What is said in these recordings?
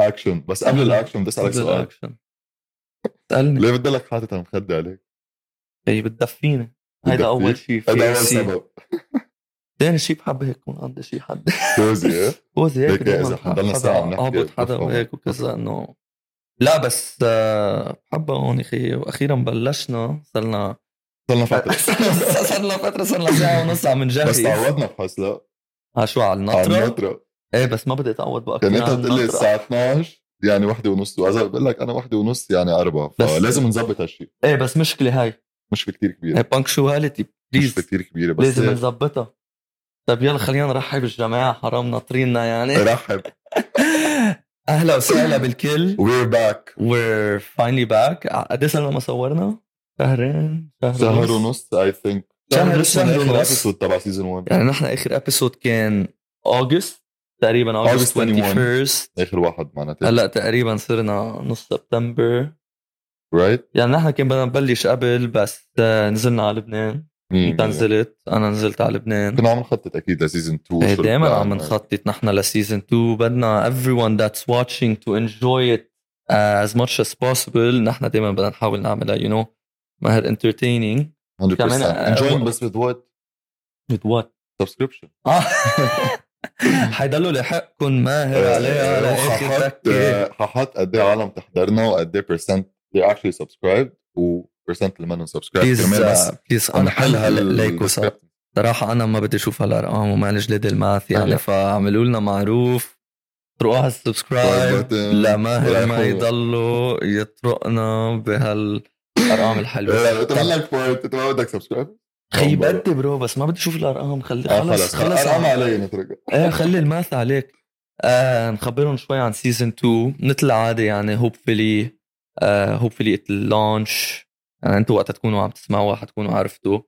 الاكشن، بس قبل الاكشن بدي اسالك قبل سؤال. الاكشن اسالني. ليه بتضلك حاطط المخدة عليك؟ هي بتدفيني، هيدا اول شيء. هذا اول سبب. ثاني شيء بحب هيك يكون عندي شيء حد كوزي. كوزي هيك ليك اذا دايما حنضلنا ساعه عم نحكي اهبط حدا وهيك وكذا انه لا بس بحبها هون اخي. واخيرا بلشنا صرنا فتره صرنا ساعه ونص عم نجهز. بس تعودنا بحس. لا شو على النطره؟ ايه بس ما بدي اتعود بقى يعني انت بتقول لي الساعه 12 يعني 1:30 واذا بقول لك انا 1:30 يعني 4 فلازم نظبط هالشيء. ايه بس مشكله هاي مش كتير كبيره. ايه بانكشواليتي مش كتير كبيره بس لازم نظبطها. طيب يلا خلينا نرحب بالجماعه، حرام ناطريننا يعني. رحب. اهلا وسهلا بالكل. We're back. We're finally back. قد ايه صرنا ما صورنا؟ شهر ونص I think. شهر ونص تبع سيزون 1. يعني نحن اخر ابيسود كان اوغست تقريبا، اوغست 21 اخر واحد معناته. هلا تقريبا صرنا نص سبتمبر right. يعني نحن كان بدنا نبلش قبل بس نزلنا على لبنان. انت نزلت، انا نزلت على لبنان. كنا عم نخطط اكيد لسيزون 2. دائما عم نخطط نحن لسيزون 2. بدنا everyone that's watching to enjoy it as much as possible. نحن دائما بدنا نحاول نعملها you know ماهر entertaining 100% enjoying بس with what subscription. حيضلوا لحقكم ماهر عليها لاخر تكه. ححط قد ايه عالم تحضرنا وقد ايه percent they actually subscribed وpercent اللي ما subscribe. بليز انا حلها ليكو صراحه انا ما بدي اشوف هالارقام وما جلد الماث يعني فاعملوا لنا معروف طرقوا هالسبسكرايب لماهر ما يضلوا يطرقنا بهالارقام الحلوه. لا تملك بوينت انت ما بدك سبسكرايب خي بدي برو بس ما بدي اشوف الارقام. خلص ارقام علي نترك. ايه خلي الماث عليك. نخبرهم شوي عن سيزن 2 مثل العاده يعني hopefully it launch يعني انتوا وقت تكونوا عم تسمعوا حتكونوا عرفتوا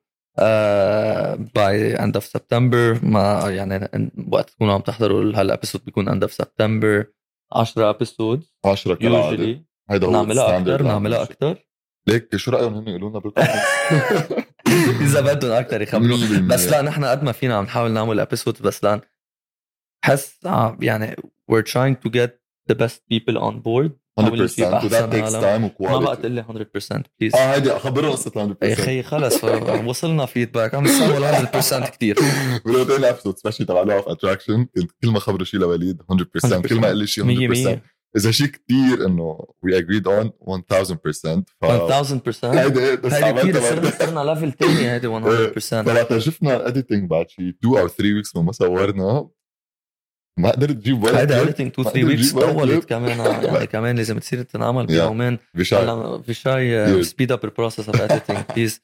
by end of September. ما يعني وقت تكونوا عم تحضروا هالابيسود بيكون end of September. 10 episodes 10 كالعاده. هيدا هو نعملها اكثر ليك شو رايهم هن يقولوا لنا بالكومنتس اذا بدهم اكثر يخبروا. بس لا نحن قد ما فينا عم نحاول نعمل ابيسود بس لان حس يعني we're trying to get the best people on board 100% that takes time وquality. ما بقى تقول لي 100% بليز. هيدي خبروا قصه 100%. يا اخي خلص وصلنا فيدباك عم نسوي 100% كتير. بقولوا لي ابسود سبيشلي تبع لو اوف اتراكشن كنت كل ما خبروا شيء لوليد 100% كل ما قال لي شيء 100%. اذا شيء كتير انه we agreed on 1000%. 1000% هيدي كتير. صرنا ليفل تاني هيدي 100%. فلما شفنا editing بعد شيء 2 or 3 weeks ما صورنا ما قدرت تجيب ولا هيدا editing 2-3 weeks طولت كمان يعني كمان لازم تصير تنعمل بيومين. في شاي speed up the process of editing please.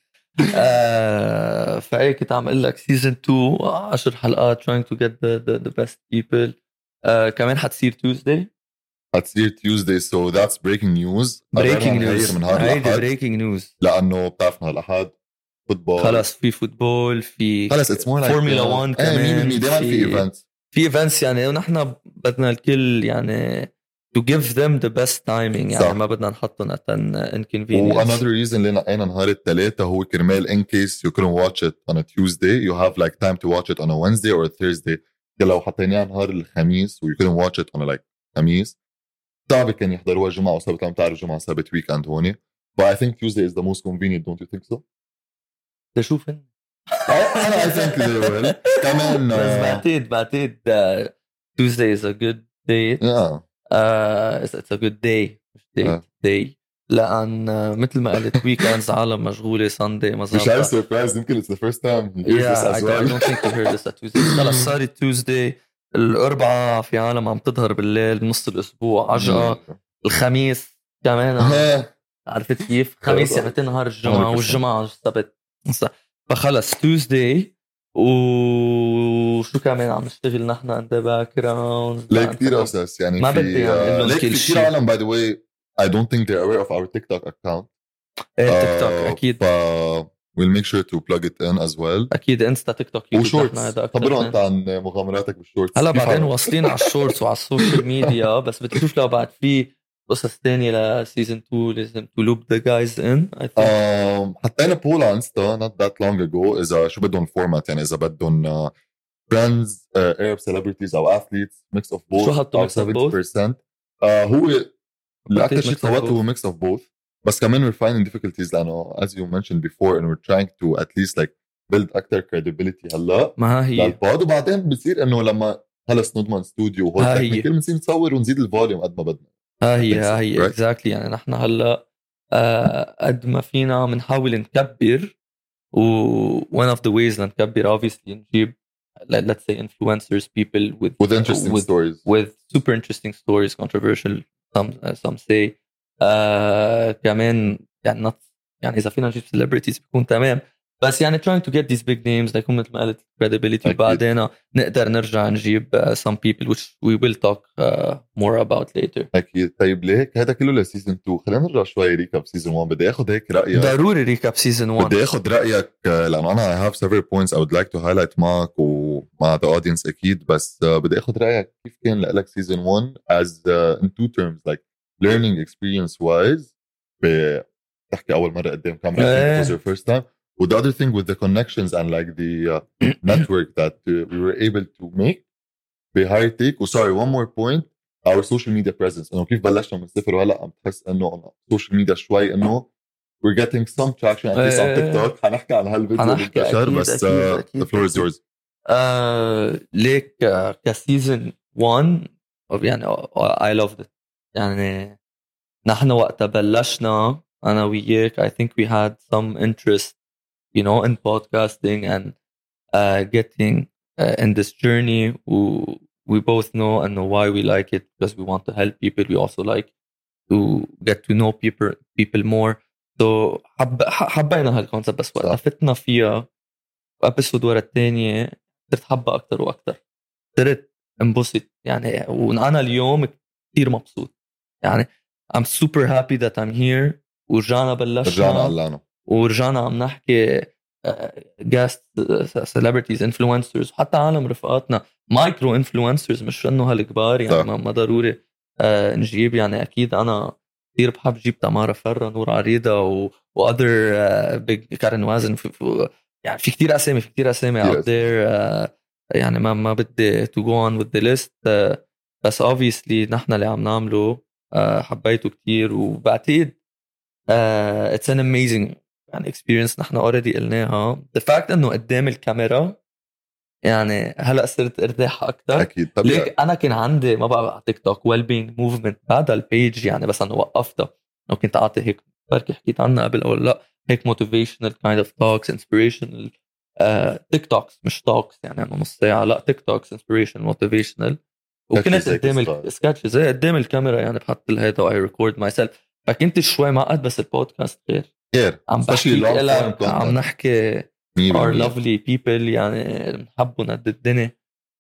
فأي كنت عم اقول لك season 2 10 حلقات trying to get the best people. كمان حتصير Tuesday so that's breaking news. من breaking news لأنه بتعرفنا الأحد فوتبول خلص في فوتبول في خلص it's more like فورمولا 1 كمان في events يعني ونحن بدنا الكل يعني to give them the best timing يعني ما بدنا نحطهم at an inconvenience. another reason اللي نقينا نهار الثلاثة هو كرمال in case you couldn't watch it on a Tuesday you have like time to watch it on a Wednesday or a Thursday. لو حطيناه نهار الخميس و you couldn't watch it on a like خميس صعب كان يحضروها جمعة وسبت. لما تعرف جمعة وسبت weekend هوني but I think Tuesday is the most convenient don't you think so؟ تشوف أنا I think they will كمان بس بعتقد Tuesday is a good day. It's a good day day لأن مثل ما قلت weekends عالم مشغولة Sunday ما مش عارف surprise يمكن it's the first time he hears this as well. I don't think he heard this at Tuesday. خلص صارت Tuesday. الأربعاء في عالم عم تظهر بالليل نص الأسبوع عجقة. الخميس كمان عرفت كيف خميس يعني نهار الجمعة والجمعة السبت فخلص Tuesday. وشو كمان عم نشتغل نحن عند باك جراوند لا كتير أساس يعني ما بدي أعمل لهم كل شيء. عالم by the way I don't think they're aware of our TikTok account. تيك توك أكيد we'll make sure to plug it in as well. أكيد إنستا تيك توك وشورتس خبروا أنت عن مغامراتك بالشورتس. هلا بعدين واصلين على الشورتس وعلى السوشيال ميديا بس بدي أشوف لو بعد في قصص تانية لسيزن 2 لازم to loop the guys in I think. حطينا بول على انستا not that long ago إذا شو بدهم فورمات يعني إذا بدهم friends Arab celebrities أو athletes mix of both. شو حطوا mix of both؟ هو الاكثر شيء mix of صوت both. هو ميكس اوف بوث. بس كمان we're finding difficulties لانه as you mentioned before and we're trying to at least like build اكثر credibility هلا ما هي للبود. وبعدين بصير انه لما خلص نضمن استوديو وهول هي تكنيكال بنصير نصور ونزيد الفوليوم قد ما بدنا. هي right? exactly. يعني نحن هلا قد ما فينا بنحاول نكبر، و one of the ways نكبر obviously نجيب let's say influencers, people with interesting stories, with super interesting stories, controversial some say. كمان يعني يعني إذا فينا نجيب celebrities بيكون تمام. بس يعني trying to get these big names like مثل ما قلت credibility. وبعدين نقدر نرجع نجيب some people which we will talk more about later. أكيد. طيب ليك هذا كله لسيزن 2. خلينا نرجع شوي ريكاب سيزن 1. بدي أخذ هيك رأيك. ضروري ريكاب سيزن 1. بدي أخذ رأيك لأنه أنا I have several points I would like to highlight معك ومع the audience أكيد. بس بدي أخذ رأيك كيف كان لك سيزن 1 as in two terms like learning experience wise. بتحكي أول مرة قدام كاميرا it was your first time. With the other thing with the connections and like the network that we were able to make بهاي تيك. وسوري one more point our social media presence. إنه كيف بلشنا من الصفر وهلا عم تحس إنه social media شوي إنه we're getting some traction at least on TikTok. حنحكي عن هالفيديو اللي انتشر. بس the floor is yours. ليك كسيزن 1 يعني I loved it. يعني نحن وقت بلشنا أنا وياك I think we had some interest you know in podcasting and getting in this journey. We both know and know why we like it because we want to help people. We also like to get to know people more. So حبينا هالكونسبت. بس وقت فتنا فيها ابيسود ورا الثانية صرت حبها أكتر وأكتر. صرت انبسط يعني. وأنا اليوم كتير مبسوط يعني. I'm super happy that I'm here. ورجعنا بلشنا ورجعنا عم نحكي guest celebrities influencers وحتى عالم رفقاتنا مايكرو influencers مش انه هالكبار يعني. ما ضروري نجيب يعني. اكيد انا كثير بحب جيب تمارا فرة، نور عريضة و other big كارن وازن يعني. في كتير اسامي out there يعني. ما بدي to go on with the list. بس obviously نحن اللي عم نعمله حبيته كتير. وبعتقد it's an amazing يعني experience. نحن already قلناها. the fact انه قدام الكاميرا يعني هلا صرت ارتاح اكثر. اكيد طبعا. ليك انا كان عندي ما بقى على تيك توك well being movement بعد البيج يعني. بس انا وقفتها لو كنت اعطي هيك بركي حكيت عنها قبل او لا هيك motivational kind of talks inspirational تيك توكس مش talks يعني نص ساعه لا تيك توكس inspirational motivational. وكنت قدام السكتش زي قدام الكاميرا يعني بحط الهيدا I record myself. فكنت شوي معقد. بس البودكاست غير عم بحكي لك عم نحكي our lovely people يعني بنحبهم قد الدنيا.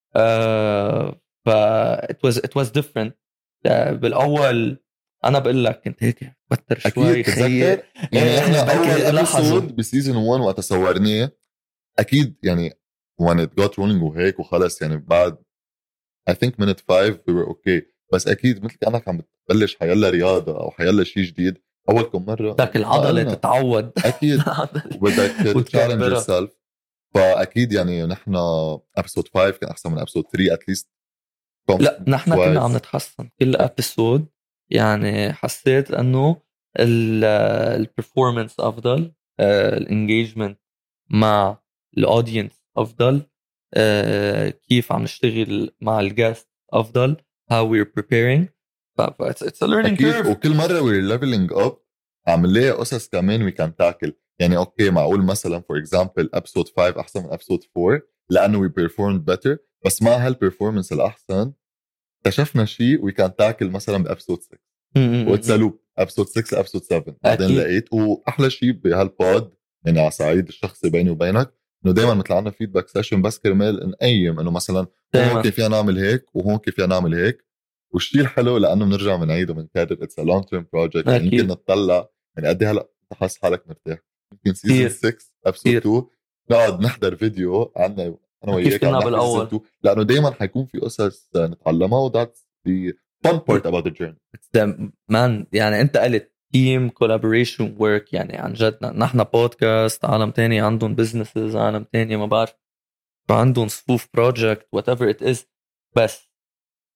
ف it was different. بالاول انا بقول لك كنت هيك بتر شوي خير يعني. احنا اول ابيسود بسيزون 1 وقت صورناه اكيد يعني when it got rolling وهيك وخلص يعني. بعد I think minute 5 we were okay. بس اكيد مثل كأنك عم بتبلش حيلا رياضة او حيلا شيء جديد اول كم مرة بدك العضلة تتعود اكيد وبدك تشالنج يور سيلف. فاكيد يعني نحن ابيسود 5 كان احسن من ابيسود 3 at least. لا نحن كنا عم نتحسن كل ابيسود يعني. حسيت انه البرفورمانس افضل، الانجيجمنت مع الاودينس افضل، كيف عم نشتغل مع الجاست افضل، how we're preparing. it's a learning curve. وكل مرة we're leveling up عم نلاقي قصص كمان we can tackle يعني. اوكي معقول مثلا for example episode 5 احسن من episode 4 لانه we performed better. بس مع هالperformance الاحسن اكتشفنا شيء we can tackle مثلا بابسود 6 واتسالوب episode 6 episode 7 بعدين لقيت. واحلى شيء بهالبود يعني على صعيد الشخصي بيني وبينك انه دائما مثل عنا فيدباك سيشن بس كرمال نقيم انه مثلا هون كيف فينا نعمل هيك وهون كيف فينا نعمل هيك. والشيء الحلو لانه بنرجع بنعيد وبنكرر اتس ا لونج تيرم بروجكت. يعني يمكن نطلع يعني قد هلا تحس حالك مرتاح يمكن سيزون 6 ابسود 2 نقعد نحضر فيديو عنا انا وياك عم نحكي سيزون 2 لانه دائما حيكون في قصص نتعلمها. وذاتس the fun part about the journey. man يعني انت قلت team collaboration work يعني عن جد. نحن بودكاست، عالم تاني عندهم businesses، عالم تاني ما بعرف عندهم صفوف project whatever it is. بس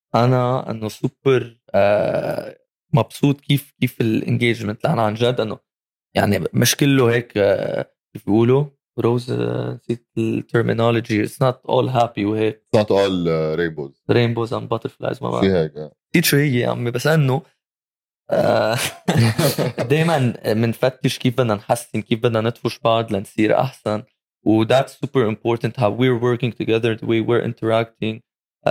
انا انه سوبر مبسوط كيف الانجيجمنت، لأن عن جد انه يعني مش كله هيك كيف بيقولوا روز، نسيت الترمينولوجي، it's not all happy وهيك it's not all rainbows. rainbows and butterflies، ما شيء بعرف هيك نسيت شو هي يا عمي، بس انه دائما بنفتش كيف بدنا نحسن، كيف بدنا ندفش بعض لنصير احسن. و that's super important how we're working together, the way we're interacting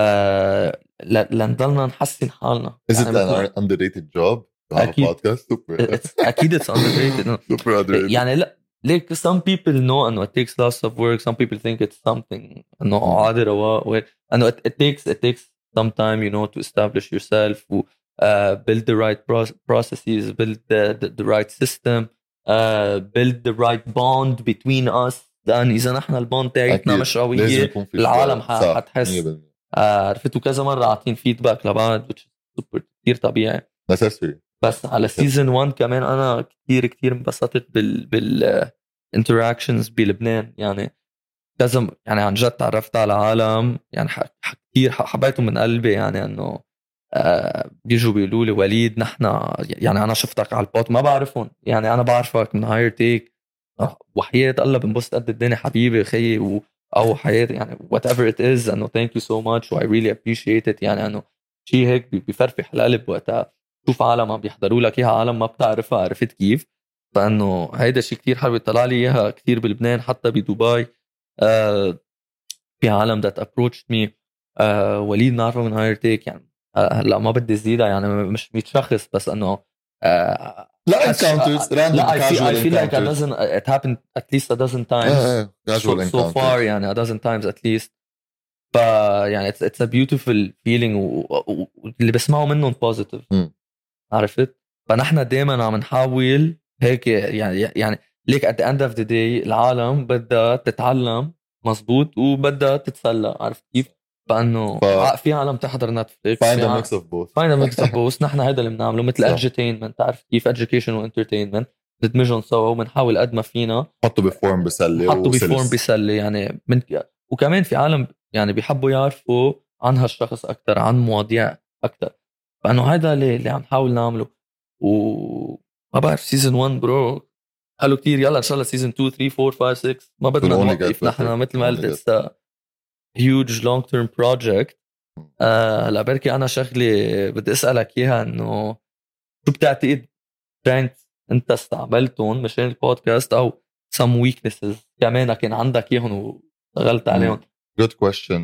لنضلنا نحسن حالنا. Is it يعني an underrated job to have a اكيد podcast? Super. اكيد it's underrated. Super underrated. يعني لا ليك some people know انه it takes lots of work, some people think it's something انه عادي رواق، انه it takes some time, you know, to establish yourself و build the right processes, build the right system, build the right bond between us. لأن إذا نحن البوند تاعتنا مش قوية العالم حتحس عرفتوا كذا مرة عاطين فيدباك لبعض، which is super كتير طبيعي. necessary. بس على سيزن 1 كمان أنا كتير انبسطت بال interactions بلبنان. يعني كذا يعني عن جد تعرفت على عالم يعني كتير حبيتهم من قلبي. يعني انه بيجوا بيقولوا لي وليد نحن يعني انا شفتك على البود ما بعرفهم، يعني انا بعرفك من هاير تيك وحياة الله بنبسط قد الدنيا حبيبي خيي او حياتي يعني whatever it is. انه thank you so much و I really appreciate it. يعني انه شيء هيك بيفرفح القلب وقتها تشوف عالم عم بيحضروا لك اياها، عالم ما بتعرفها، عرفت كيف؟ فانه هيدا شيء كتير حلو. طلع لي اياها كتير بلبنان حتى بدبي. في عالم that approached me وليد نعرفه من هاير تيك. يعني هلا ما بدي زيدها يعني مش 100 شخص بس انه لا encounters random لا casual I feel like a encounters. dozen, it happened at least a dozen times casual so far يعني a dozen times at least. ف يعني it's a beautiful feeling واللي بسمعه منهم positive. عرفت؟ فنحن دائما عم نحاول هيك يعني ليك at the end of the day العالم بدها تتعلم مزبوط وبدها تتسلى، عرفت كيف؟ فانه في عالم تحضر نتفليكس find a mix of both. find a mix of both. نحن هذا اللي بنعمله مثل edutainment، تعرف كيف education و entertainment ندمجهم سوا وبنحاول قد ما فينا حطوا بفورم بسلي حطوا بفورم بسلي. يعني وكمان في عالم يعني بيحبوا يعرفوا عن هالشخص اكثر، عن مواضيع اكثر. فانه هذا اللي عم نحاول نعمله. وما بعرف سيزون 1 برو حلو كتير. يلا ان شاء الله سيزون 2 3 4 5 6 ما بدنا نوقف. نحن مثل ما قلت it's a huge long term project. هلا بركي انا شغلي بدي اسالك اياها انه شو بتعتقد strengths انت استعملتهم مشان البودكاست او some weaknesses كمان كان عندك اياهم واشتغلت عليهم؟ Good question.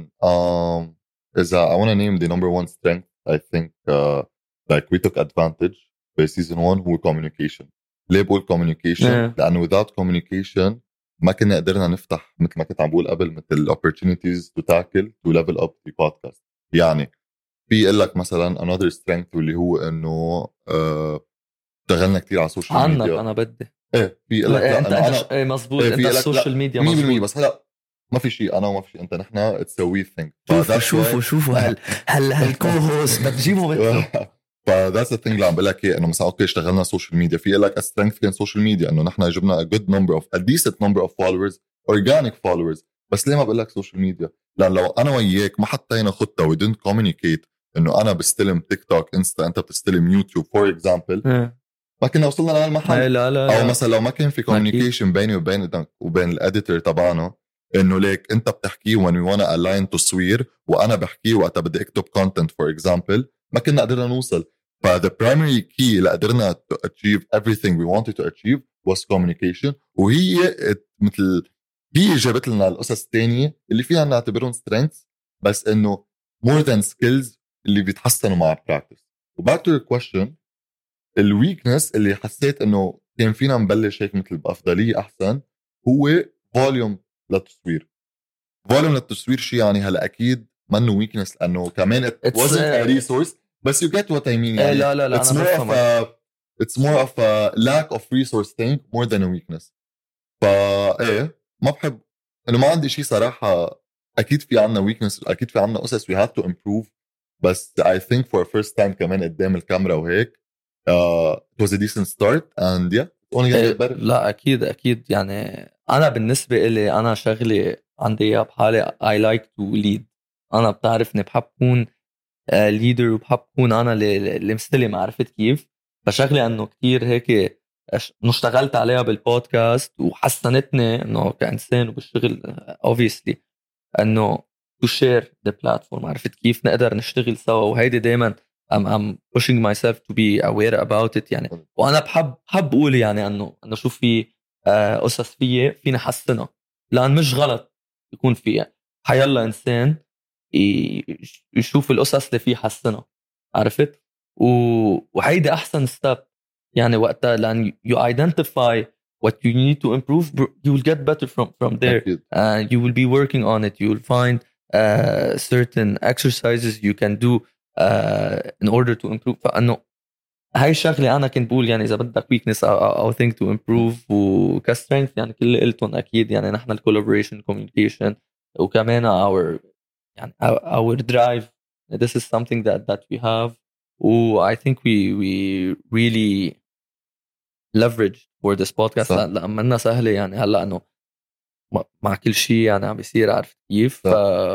Is I want to name the number one strength. I think like we took advantage by season 1 هو communication. ليه بقول communication؟ لأنه without communication ما كنا قدرنا نفتح مثل ما كنت عم بقول قبل مثل opportunities to tackle to level up the podcast. يعني في يقول لك مثلا another strength واللي هو إنه اشتغلنا كتير على السوشيال عنك ميديا. أنا بدي إيه في يقول لك لا أنت مزبوط أنت السوشيال ميديا مزبوط. بس هلا ما في شيء انا وما في شيء انت، نحن it's a we thing. شوفوا هالكو هوست بدك تجيبه مثله. فذاتس ذا ثينج اللي عم بقول لك اياه، انه مثلا اوكي اشتغلنا سوشيال ميديا في لك سترينث كان سوشيال ميديا انه نحن جبنا a good number of a decent number of followers organic followers. بس ليه ما بقول لك سوشيال ميديا؟ لان لو انا وياك ما حطينا خطه we didn't communicate انه انا بستلم تيك توك انستا انت بتستلم يوتيوب فور اكزامبل ما كنا وصلنا لهالمحل. لا. او مثلا لو ما كان في communication بيني وبين الاديتور تبعنا انه ليك انت بتحكي when we wanna align تصوير وانا بحكي وقتها بدي اكتب content for example ما كنا قدرنا نوصل. ف the primary key اللي قدرنا to achieve everything we wanted to achieve was communication. وهي مثل هي جابت لنا القصص الثانية اللي فيها نعتبرهم strengths بس انه more than skills اللي بيتحسنوا مع practice. وback to your question الويكنس اللي حسيت انه كان فينا نبلش هيك مثل بأفضلية احسن هو فوليوم للتصوير. فوليوم للتصوير شيء يعني هلا اكيد منه ويكنس لانه كمان it wasn't a resource بس you get what I mean. يعني لا it's more of a lack of resource thing more than a weakness. ايه ما بحب انه ما عندي شيء صراحة. اكيد في عنا ويكنس اكيد في عنا قصص we have to improve بس I think for first time كمان قدام الكاميرا وهيك it was a decent start and yeah only get better. لا أكيد يعني أنا بالنسبة إلي أنا شغلي عندي بحالي I like to lead. أنا بتعرفني بحب كون ليدر وبحب كون انا اللي مستلم، عرفت كيف؟ فشغلي انه كتير هيك انه اشتغلت عليها بالبودكاست وحسنتني انه كإنسان وبالشغل obviously انه to share the platform، عرفت كيف؟ نقدر نشتغل سوا، وهيدي دايما I'm pushing myself to be aware about it يعني. وانا بحب اقول يعني انه شو في قصص فينا حسنها، لان مش غلط يكون في حيلا انسان يشوف القصص اللي فيه حسنها، عرفت؟ وهيدي احسن ستيب يعني وقتها، لان you identify what you need to improve, you will get better from there. You will be working on it, you will find certain exercises you can do in order to improve. فانه هاي الشغله انا كنت بقول يعني اذا بدك weakness او thing to improve وكstrength يعني كل اللي قلتهم اكيد يعني نحن الكولابوريشن communication وكمان our يعني our drive. This is something that we have. I think we really leverage for this podcast لأمنا سهلة يعني هلا انه مع كل شيء يعني عم بيصير، عارف كيف؟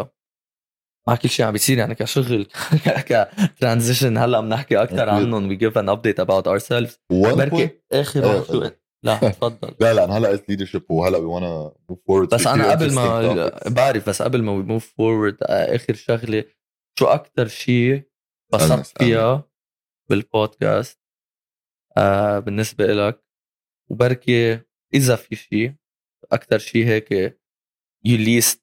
مع كل شيء عم بيصير يعني كشغل كترانزيشن هلا بنحكي اكثر عنهم. we give an update about ourselves. بركي اخر واحد شو لا تفضل. لا انا هلا قلت leadership وهلا we wanna move forward. بس انا قبل ما بعرف، بس قبل ما we move forward اخر شغله، شو اكثر شيء بسطت فيها بالبودكاست بالنسبه لك؟ وبركي اذا في شيء اكثر شيء هيك you least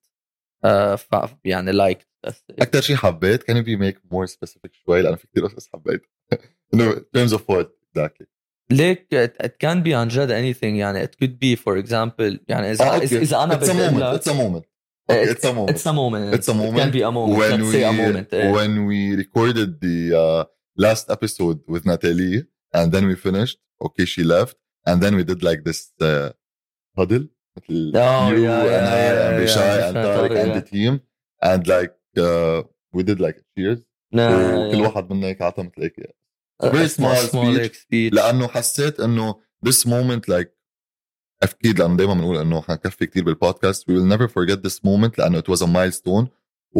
يعني like اكثر شيء حبيت can you make more specific شوي لأن في كتير قصص حبيت in terms of what exactly. ليك it can be عن جد anything يعني it could be for example يعني إذا أنا بدي أقول لك it's a moment. Okay, it's a moment. It's a moment. It's a moment. It can be a moment. Let's say a moment. When we recorded the last episode with Natalie and then we finished, okay, she left and then we did like this huddle with you and I and Bishai and Tariq and the team and like we did like cheers. وكل واحد منا هيك عطى مثل هيك very small speech لأنه حسيت إنه this moment like أكيد لأنه دايما بنقول إنه حنكفي كتير بالبودكاست we will never forget this moment لأنه it was a milestone.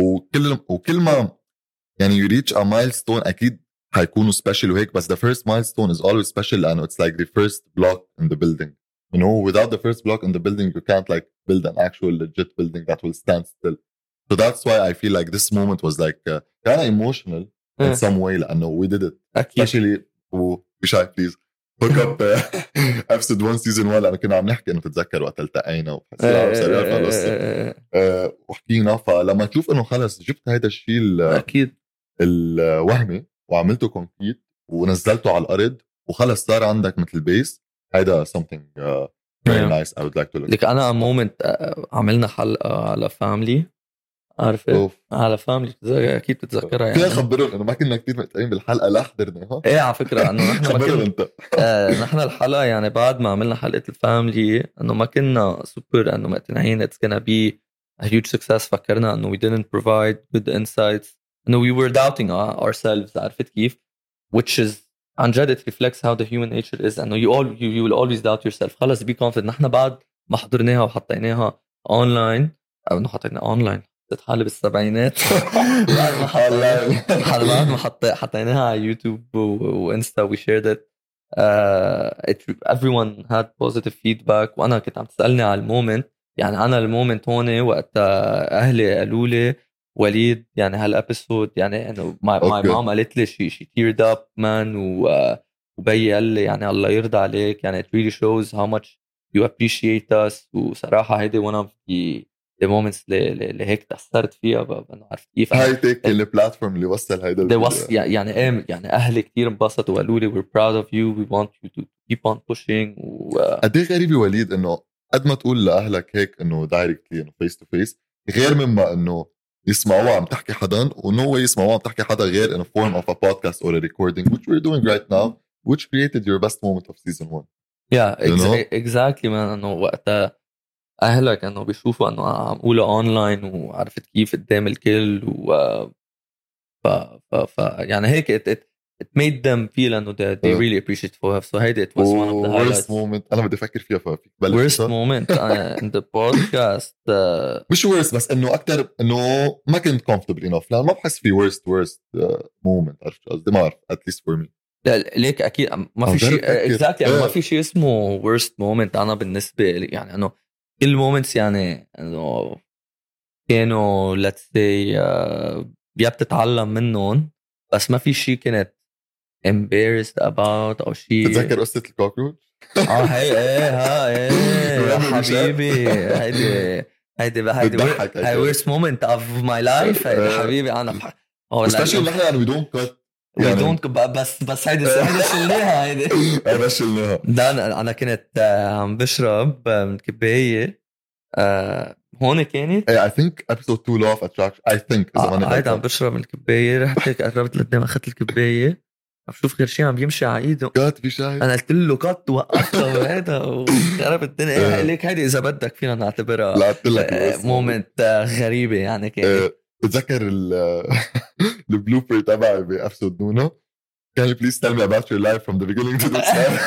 وكل ما يعني you reach a milestone أكيد حيكونوا special وهيك، بس the first milestone is always special لأنه it's like the first block in the building. You know, without the first block in the building you can't like build an actual legit building that will stand still. So that's why I feel like this moment was like kind of emotional in some way لأنه we did it. Especially Bishai please hook up episode 1 season 1 لأنه كنا عم نحكي إنه تتذكر وقت التقينا وحسينا وسريع في القصة وحكينا. فلما تشوف إنه خلص جبت هيدا الشيء أكيد الوهمي وعملته كونكريت ونزلته على الأرض وخلص صار عندك مثل بيس، هيدا something very nice I would like to look. لك أنا moment عملنا حلقة على family، عارفة على فاملي اكيد بتتذكرها يعني. كيف خبرهم انه ما كنا كتير متابعين بالحلقه لا حضرناها. ايه على فكره انه نحن ما كنا نحن الحلقه يعني بعد ما عملنا حلقه الفاملي انه ما كنا سوبر انه مقتنعين it's gonna be a huge success. فكرنا انه we didn't provide good insights انه we were doubting ourselves، عرفت كيف؟ which is عن جد it reflects how the human nature is انه you will always doubt yourself. خلص be confident. نحن بعد ما حضرناها وحطيناها اونلاين او انه حطينا اونلاين تتحالي بالسبعينات بعد ما حطيناها على يوتيوب وانستا we shared it. Everyone had positive feedback. وانا كنت عم تسألني على المومنت يعني انا المومنت هون وقت اهلي قالوا لي وليد يعني هالابيسود يعني انه my mom قالت لي she teared up man وبي قال لي يعني الله يرضى عليك يعني it really shows how much you appreciate us. وصراحة هيدي one of the moments اللي هيك تأثرت فيها بأنه عارف كيف هاي تيك البلاتفورم اللي وصل هيدا يعني يعني أهلي كتير انبسطوا وقالوا لي we're proud of you we want you to keep on pushing. قد ايه غريبة وليد إنه قد ما تقول لأهلك هيك إنه دايركتلي إنه face to face غير مما إنه يسمعوها عم تحكي حدا ونو واي يسمعوها عم تحكي حدا غير in a form of a podcast or a recording which we're doing right now which created your best moment of season 1. Yeah exactly man. إنه وقتها أهلك أنه بيشوفوا أنه عم قوله أونلاين وعرفت كيف قدام الكل يعني هيك it made them feel انه they really appreciate فوهف. So هيدا it was one of the highlights. worst moment انا بدي افكر فيها فيك worst moment in the podcast مش worst بس انه اكثر انه ما كنت comfortable enough. لا ما بحس في worst moment. عرفت قصدي؟ ما اعرف at least for me. لا ليك اكيد ما في شيء exactly يعني ما في شيء اسمه worst moment. انا بالنسبه لي يعني انه كل moments يعني انه كانوا let's say يا بتتعلم منهم بس ما في شيء كانت embarrassed about او شيء. تتذكر قصة الكوكروتش؟ هي يا حبيبي هيدي worst moment of my life. هيدي حبيبي انا especially نحن يعني we don't cut we don't بس هيدي شلناها. هيدي شلناها. ده انا كنت عم بشرب من كباية هون كانت I think episode 2 law of attraction I think هيدا عم بشرب من الكباية. رحت هيك قربت لقدام اخذت الكباية عم شوف غير شيء عم يمشي على ايده. كات في شاي. انا قلت له كات وقفته وهذا وخرب الدنيا. ليك هيدي اذا بدك فينا نعتبرها مومنت غريبة يعني. كانت بتذكر البلوبر تبعي بأبسود نونا can you please tell me about your life from the beginning to the end.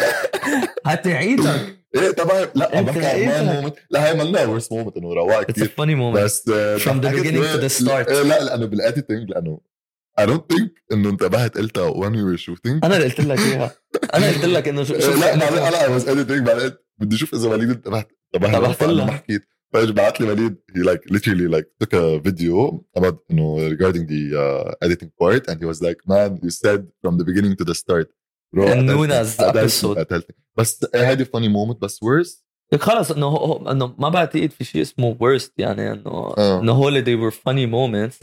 هتعيدك ايه طبعا. لا بحكي مومنت. لا هي مالنا worst moment انه رواق كتير. It's a funny moment بس from the beginning to the start. لا لانه بالاديتنج لانه I don't think انه انتبهت قلتها when we were shooting. انا اللي قلت لك اياها. انا قلت لك انه لا I was editing بعدين بدي اشوف اذا وليد انتبهت لها ما حكيت. فاجي بعت لي وليد he like literally like took a video about regarding the editing part and he was like man you said from the beginning to the start Nuna's episode. بس هذه funny moment بس worst خلص انه ما بعتقد في شيء اسمه worst يعني انه هول they were funny moments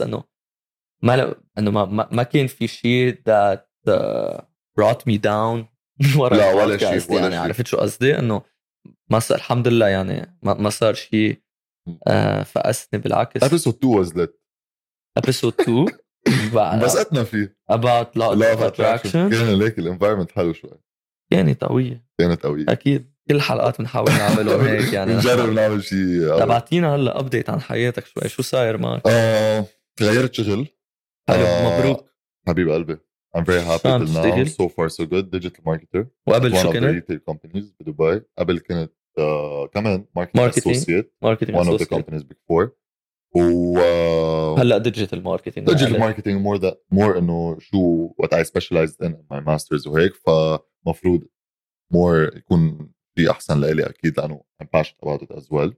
انه ما كان في شيء that brought me down لا ولا شيء يعني عرفت شو قصدي انه ما صار الحمد لله يعني ما صار شيء فقسني بالعكس. episode 2 was lit. episode 2 بسأتنا فيه about law of attraction. كان ليك الانفايرمنت حلو شوي. كانت قوية اكيد. كل حلقات بنحاول نعملهم هيك يعني نجرب نعمل شيء. تبعتينا هلا ابديت عن حياتك شوي. شو صاير معك؟ غيرت شغل. مبروك حبيب قلبي. I'm very happy till now. So far so good. Digital marketer. وقبل شو كنت؟ One of the retail companies بدبي. قبل كنت كمان marketing associate. One of the companies big four. هلا digital marketing more إنه شو what I specialized in my masters وهيك. فمفروض more يكون في أحسن لإلي أكيد لأنه I'm passionate about it as well.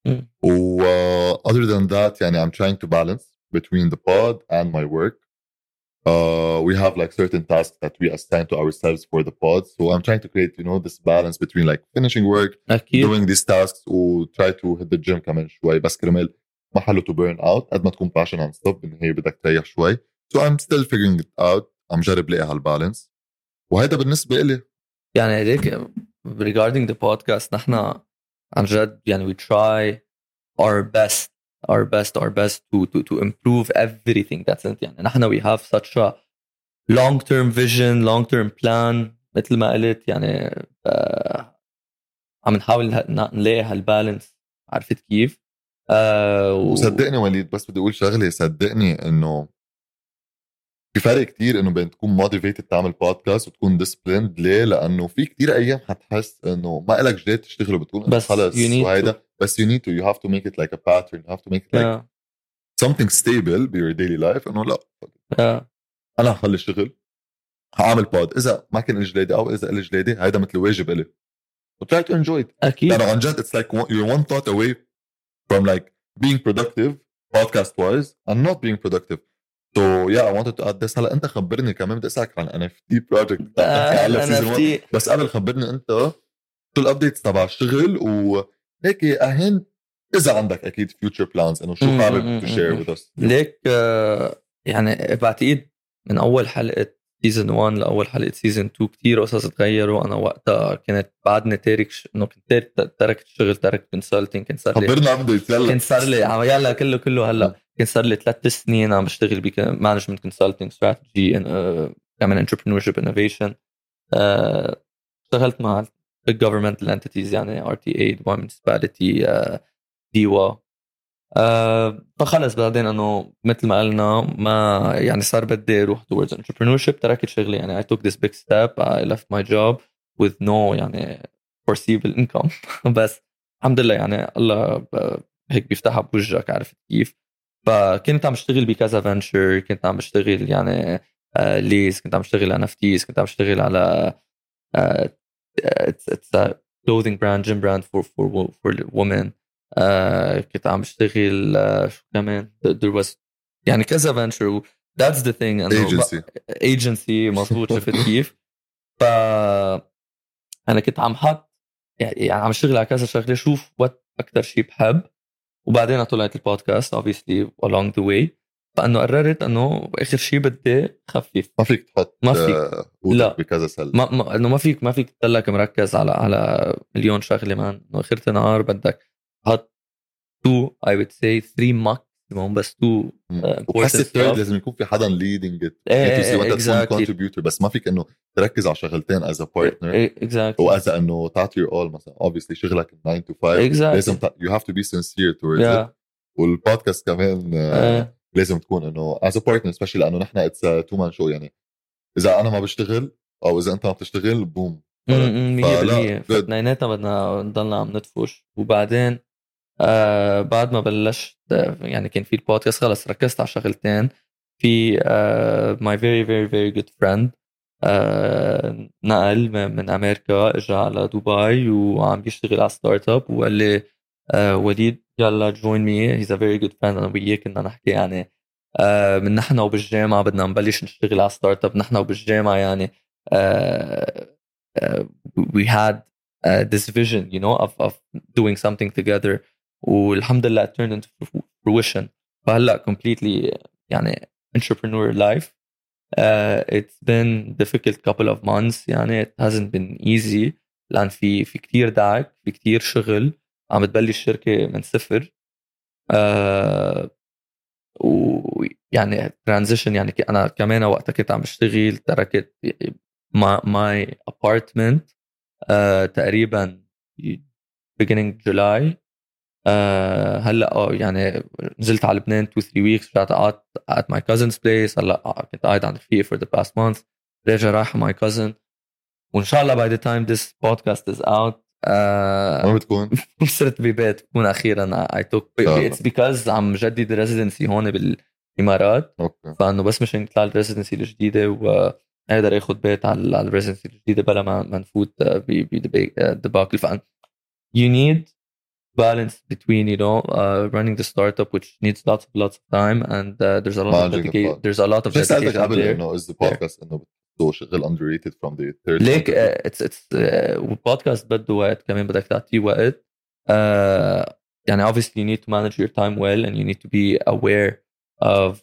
Other than that يعني I'm trying to balance between the pod and my work. We have like certain tasks that we assign to ourselves for the pod. So I'm trying to create, this balance between like finishing work, doing these tasks, or try to hit the gym كمان شوي. بس كرمال ما حلو to burn out. قد ما تكون passion and stuff بالنهاية بدك تريح شوي. So I'm still figuring it out. عم جرب لاقي هالبالانس. وهيدا بالنسبة إلي. يعني هيك regarding the podcast نحن عن جد يعني we try our best to improve everything that's it. يعني نحن we have such a long-term vision, long-term plan مثل ما قلت يعني عم نحاول نلاقي هالبالانس. عرفت كيف؟ وصدقني وليد بس بدي أقول شغلة. صدقني إنه في فرق كتير إنه بين تكون motivated تعمل بودكاست وتكون disciplined. ليه؟ لأنه في كتير أيام حتحس إنه ما إلك جديد تشتغل وبتكون بس خلص وهيدا. بس you have to make it like a pattern. You have to make it like something stable be your daily life. إنه لا أنا هخلي الشغل هعمل بود. إذا ما كان الجلادي أو إذا الجلادي هيدا مثل واجب إلي. try to enjoy it. أكيد. لأنه عن جد it's like you're one thought away from like being productive podcast wise and not being productive. So yeah I wanted to add this. هلا أنت خبرني كمان بدي أسألك عن NFT project. NFT. بس قبل خبرني أنت شو الأبديتس تبع الشغل وهيك أهين إذا عندك أكيد future plans إنه شو حابب to share with us. ليك يعني بعتقد من أول حلقة season 1 لأول حلقة season 2 كتير قصص تغيروا. أنا وقتها كنت بعدني تارك إنه كنت تركت الشغل تركت consulting. كنت صار لي خبرنا أبديت يلا. كنت صار لي يلا كله هلا كنت صار لي 3 سنين عم بشتغل بmanagement consulting strategy كمان entrepreneurship innovation. اشتغلت مع big governmental entities يعني RTA Dubai Municipality DIWA فخلص بعدين انه مثل ما قلنا ما يعني صار بدي اروح towards entrepreneurship. تركت شغلي يعني I took this big step. I left my job with no يعني foreseeable income. بس الحمد لله يعني الله هيك بيفتحها بوجهك، عرفت كيف. فكنت عم اشتغل بكذا فنتشر، كنت عم بشتغل يعني ليز، كنت عم بشتغل على NFTs، كنت عم بشتغل على it's a clothing brand, gym brand for women. كنت عم بشتغل شو كمان there was يعني كذا venture. that's the thing انه agency مظبوط. شفت كيف. ف انا كنت عم حط يعني عم اشتغل على كذا شغله، شوف وات اكثر شيء بحب. وبعدين طلعت البودكاست obviously along the way. فانه قررت انه اخر شيء بدي خفف. ما فيك تحط ما فيك لا بكذا سله. انه ما فيك تضلك مركز على مليون شغله. مان انه اخر النهار بدك تحط 2 I would say 3 maximum بس 2 وبحس الثيرد لازم يكون في حدا leading it. وانت تكون contributor، بس ما فيك انه تركز على شغلتين as a partner وas انه تعطي your all. مثلا obviously شغلك 9 to 5 لازم you have to be sincere towards it. والبودكاست كمان لازم تكون انه as a partner especially لانه نحن it's a two man show. يعني اذا انا ما بشتغل او اذا انت ما بتشتغل بوم 100%. فاثنيناتنا بدنا نضلنا عم ندفش. وبعدين بعد ما بلشت يعني كان في البودكاست خلص ركزت على شغلتين. في my very very very good friend نقل من امريكا اجى على دبي وعم بيشتغل على ستارت اب وقال لي وليد يلا join me. he's a very good friend. انا وياه كنا نحكي يعني من نحن وبالجامعه بدنا نبلش نشتغل على ستارت اب. نحن وبالجامعه يعني we had this vision you know of doing something together. والحمد لله it turned into fruition. فهلا completely يعني entrepreneur life. It's been difficult couple of months يعني it hasn't been easy لأن في كتير دعك، في كتير شغل. عم تبلش شركة من صفر ويعني transition. يعني أنا كمان وقتها كنت عم بشتغل تركت my apartment تقريبا beginning July. هلا يعني نزلت على لبنان 2-3 weeks. رجعت قعدت at my cousin's place. هلا كنت قاعد عند رفيقي for the past month. راجع رايح my cousin. وان شاء الله by the time this podcast is out ما بتكون صرت ببيت بكون اخيرا I took it's because عم جدد residency هون بالامارات. فانه بس مشان نطلع الريزيدنسي الجديده وقادر اخذ بيت على الريزيدنسي الجديده بلا ما نفوت بدباكل. فان you need balance between you know running the startup which needs lots of time and there's a lot of dedication. There's a lot of dedication out there. انه is the podcast انه بده شغل underrated from the third. ليك it's podcast بده وقت كمان، بدك تعطيه وقت. يعني obviously you need to manage your time well and you need to be aware of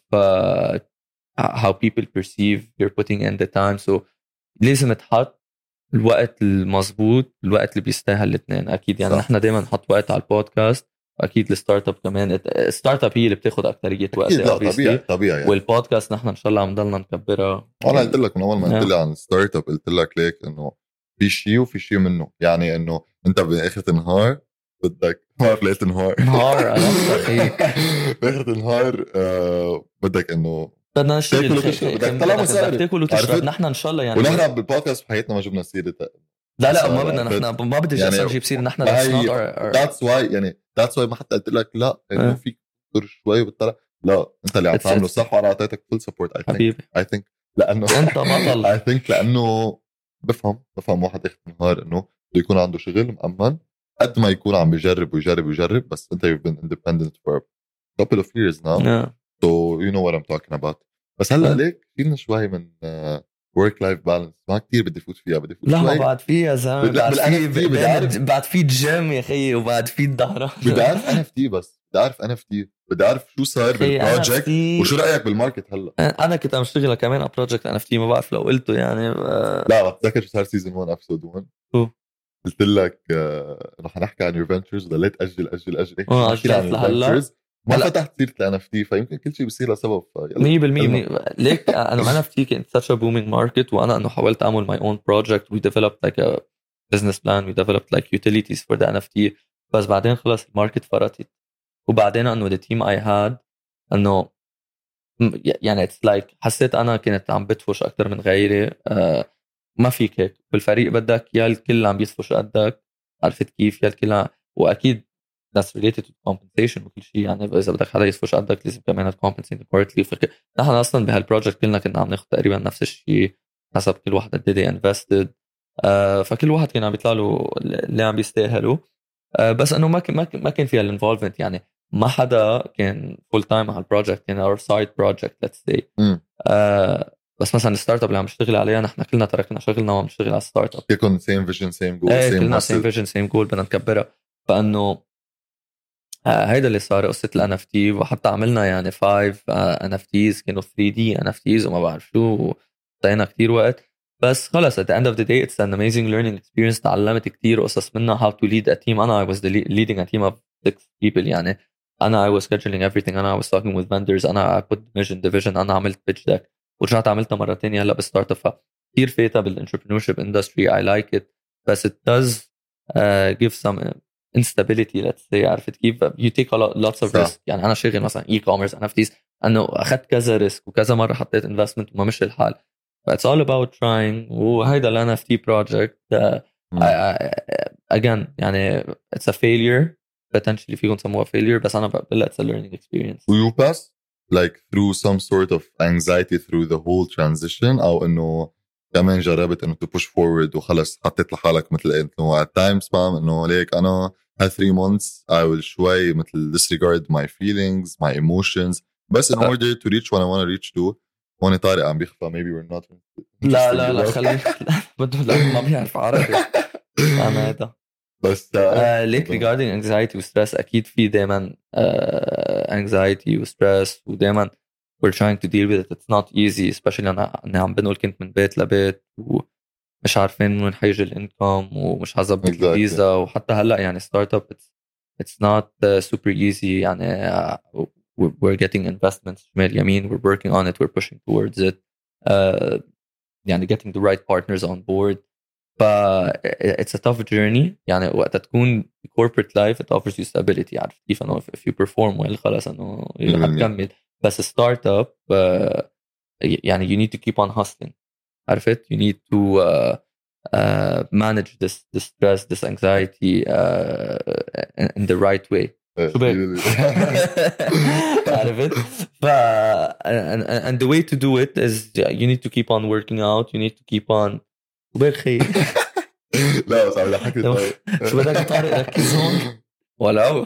how people perceive you're putting in the time. so لازم تحط الوقت المضبوط، الوقت اللي بيستاهل الاثنين. اكيد يعني نحن دائما نحط وقت على البودكاست، واكيد الستارت اب كمان. الستارت اب هي اللي بتاخذ اكثريه وقت طبيعي يعني. والبودكاست نحن ان شاء الله عم نضلنا نكبرها. انا قلت لك من اول ما قلت لي عن الستارت اب قلت لك ليك انه في شيء وفي شيء منه. يعني انه انت باخر النهار بدك ما بعرف لقيت نهار انا اخيك باخر النهار بدك انه بدنا نشتغل، بدك تطلع مصاري، تاكل وتشرب. نحن ان شاء الله يعني ونحن بالبودكاست بحياتنا ما جبنا سيره. لا ما بدنا نحن ما بدي يعني اصلا نجيب سيره نحن. that's why يعني that's why ما حتى قلت لك لا انه فيك تدور شوي وبتطلع. لا انت اللي عم تعمله صح وانا اعطيتك فول سبورت. I think لانه انت بطل. I think لانه بفهم واحد اخر النهار انه بده يكون عنده شغل مأمن قد ما يكون عم بيجرب بس انت you've been independent for a couple of years now. so you know what I'm talking about. بس هلا ليك فينا شوي من work life balance ما كتير بدي فوت فيها. بدي فوت لا شوي. ما بعد فيها زلمه. بعد في جيم يا خيي وبعد في الظهر. بدي اعرف NFT بس بدي اعرف شو صار بالبروجكت وشو رايك بالماركت هلا. انا كنت عم اشتغل كمان على بروجكت NFT ما بعرف لو قلته يعني لا بتذكر شو صار سيزون 1 ابسود 1 قلت لك رح نحكي عن يور فنتشرز ضليت اجل اجلت لهلا ما فتحت سيره NFT فيمكن كل شيء بيصير لسبب. 100% ليك انا NFT كنت such a booming market وانا انه حاولت اعمل my own project. we developed like a business plan, we developed like utilities for the NFT. بس بعدين خلص الماركت فرطت وبعدين انه the team I had انه يعني it's like حسيت انا كنت عم بدفش اكثر من غيري. ما فيك هيك بالفريق، بدك يا الكل عم بيدفش قدك، عرفت كيف، يا الكل واكيد that's related to compensation وكل شيء. يعني اذا بدك حدا يدفش قدك لازم كمان compensate accordingly. نحن اصلا بهالبروجكت كلنا كنا عم ناخذ تقريبا نفس الشيء حسب كل واحد قد ايه invested. فكل واحد كان عم بيطلع له اللي عم بيستاهله. بس انه ما كان فيها الانفولفمنت. يعني ما حدا كان فول تايم على البروجكت، كان اور سايد بروجكت ليتس سي. بس مثلا الستارت اب اللي عم نشتغل عليها نحن كلنا تركنا شغلنا وعم نشتغل على الستارت اب. كلكم سيم فيجن سيم جول كلنا سيم فيجن سيم جول بدنا نكبرها. فانه هيدا اللي صار قصه الان اف تي. وحتى عملنا يعني 5 ان اف تيز كانوا 3 دي ان اف تيز وما بعرف شو، ضيعنا كتير وقت. بس خلص at the end of the day it's an amazing learning experience. تعلمت كتير قصص منها how to lead a team. أنا I was leading a team of 6 people. يعني أنا I was scheduling everything. أنا I was talking with vendors. أنا I put mission division. أنا عملت pitch deck ورجعت عملتها مرة تانية هلأ بالستارت اب. كتير فايتة بالentrepreneurship industry. I like it. بس it does give some instability let's say. عرفت كيف you take lots of risk. يعني أنا شغل مثلا e-commerce NFTs أنه أخذت كذا ريسك وكذا مرة حطيت investment وما مشي الحال. It's all about trying. وهيدا ال NFT project again يعني it's a failure potentially فيكم سموها failure. بس أنا بقول it's a learning experience. You pass like through some sort of anxiety through the whole transition أو إنه كمان جربت إنه to push forward وخلص حطيت لحالك مثل إنه at times فاهم إنه ليك أنا هال 3 months I will شوي مثل disregard my feelings my emotions بس in order to reach what I want to reach to. هون طارق عم بيخفى maybe we're not. لا خلي بده ما بيعرف عربي أنا هذا بس ليك regarding anxiety و stress أكيد في دايما anxiety و stress ودايما we're trying to deal with it. It's not easy especially أنا عم بنقول كنت من بيت لبيت ومش عارفين وين حيجي الانكم ومش حظبط الفيزا. وحتى هلأ يعني startup it's not super easy. يعني we're getting investments شمال يمين. we're working on it. we're pushing towards it. يعني getting the right partners on board. it's a tough journey. يعني وقت تكون corporate life it offers you stability. عارف كيف انه if you perform well خلاص انه هتكمل. بس ستارت اب يعني you need to keep on hustling. عرفت you need to manage this stress this anxiety in the right way. شو بك عرفت. and the way to do it is you need to keep on working out. you need to keep on بخي لا بس عم حكي شو بدك طارق ركز هون ولو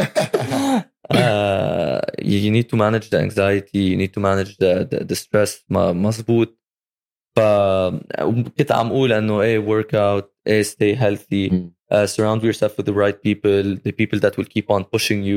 you need to manage the anxiety. you need to manage the stress. مزبوط. كنت عم أقول أنه work out stay healthy. surround yourself with the right people, the people that will keep on pushing you.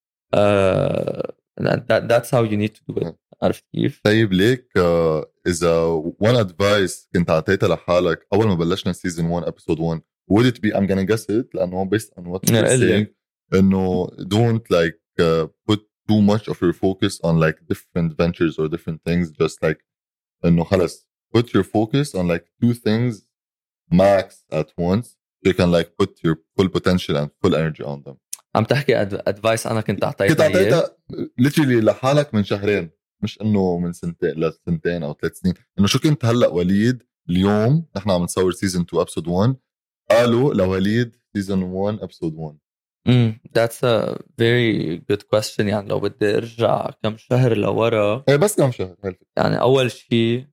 That's how you need to do it. عرفت كيف؟ طيب ليك إذا one advice كنت عطيتها لحالك أول ما بلشنا season 1 episode 1 would it be I'm gonna guess it لأنه based on what you're saying إنه don't like put too much of your focus on like different ventures or different things. Just like إنه خلص put your focus on like 2 things max at once. You can like put your full potential and full energy on them. عم تحكي advice أنا كنت أعطيتها literally لحالك من شهرين مش إنه من سنتين أو 3 سنين. إنه شو كنت هلأ وليد اليوم نحن عم نصور season 2 episode 1 قالوا لوليد season 1 episode 1. That's a very good question. يعني لو بدي أرجع كم شهر لورا بس كم شهر يعني أول شيء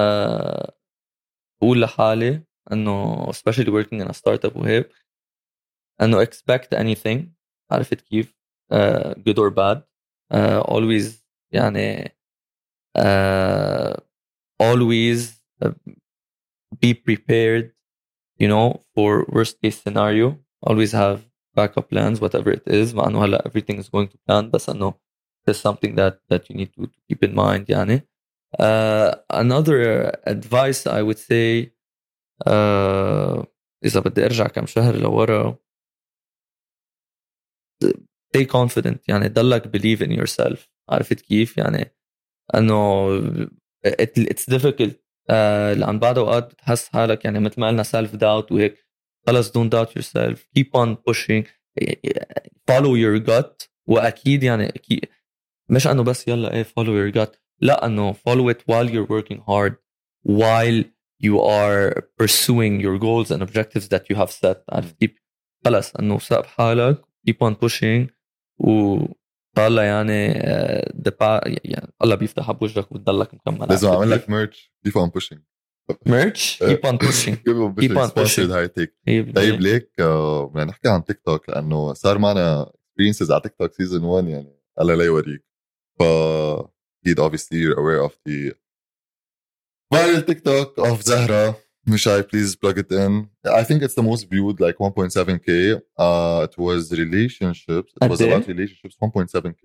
أقول لحالي أنه especially working in a startup وهيك أنه expect anything. عرفت كيف good or bad. always يعني always be prepared you know for worst case scenario. always have backup plans whatever it is. مع أنه هلا everything is going to plan بس أنه there's something that you need to keep in mind. يعني another advice I would say إذا بدي أرجع كم شهر لورا stay confident. يعني ضلك believe in yourself. عرفت كيف يعني أنه it's difficult. لأن بعد أوقات بتحس حالك يعني مثل ما قلنا self doubt وهيك. خلص don't doubt yourself. keep on pushing. follow your gut واكيد يعني اكيد مش انه بس يلا ايه follow your gut، لا انه follow it while you're working hard, while you are pursuing your goals and objectives that you have set. عارف كيف؟ خلص انه ساب حالك keep on pushing وطالع يعني يعني الله بيفتحها بوجهك وتضلك مكمل. لازم اعمل لك ميرش keep on pushing merch keep on pushing keep on pushing هاي تيك. طيب ليك بدنا نحكي عن تيك توك لانه صار معنا experiences على تيك توك سيزون 1 يعني الله لا يوريك. ف اكيد obviously you're aware of the viral TikTok of Zahra. Mishai, please plug it in. I think it's the most viewed, like 1.7k. It was relationships. It was about relationships, 1.7k.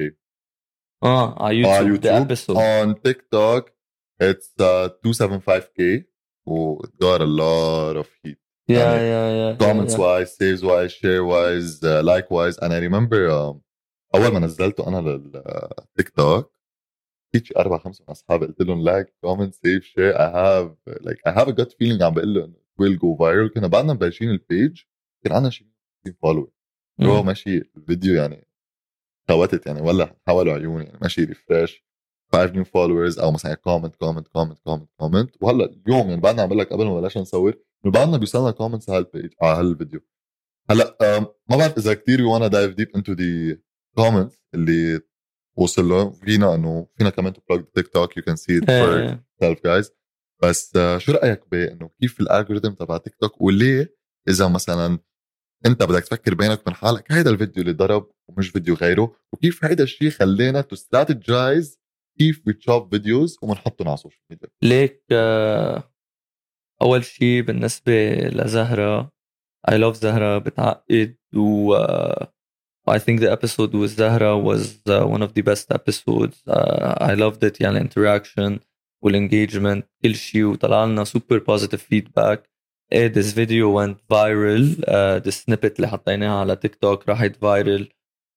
On YouTube, the episode. On TikTok, it's 275k. Oh, it got a lot of heat. Yeah. Comments wise, saves wise, share wise, like wise. And I remember أول ما نزلته أنا للتيك توك فيش 4-5 من أصحابي قلت لهم like, comment, save, share. I have a gut feeling عم بقول له will go viral. كنا بعدنا مبلشين البيج كان عنا شيء فولو هو ماشي الفيديو يعني خوتت يعني ولا حولوا عيوني يعني ماشي ريفرش 5 new followers أو مثلا comment. وهلا اليوم يعني بعدنا عم بقول لك قبل ما بلشنا نصور بعدنا بيوصلنا comments على البيج على هالفيديو. هلا ما بعرف إذا كتير you wanna dive deep into the comments اللي وصل له فينا انه فينا كمان تبلوج تيك توك you can see it for yourself guys. بس شو رايك بانه كيف الالجوريثم تبع تيك توك وليه اذا مثلا انت بدك تفكر بينك وبين حالك هيدا الفيديو اللي ضرب ومش فيديو غيره وكيف هيدا الشيء خلينا تو استراتيجايز كيف بتشوف فيديوز وبنحطهم على السوشيال ميديا. ليك اول شيء بالنسبه لزهره I love زهره بتعقد و I think the episode with Zahra was one of the best episodes. I loved it يعني interaction والengagement كل شيء وطلع لنا super positive feedback. This video went viral. The snippet اللي حطيناها على تيك توك راحت viral.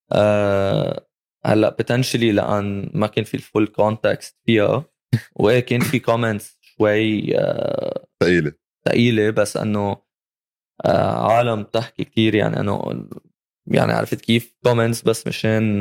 هلا potentially لأن ما كان في الفول context فيها وكان في comments شوي ثقيلة بس أنه عالم تحكي كتير يعني أنه يعني عرفت كيف comments بس مشان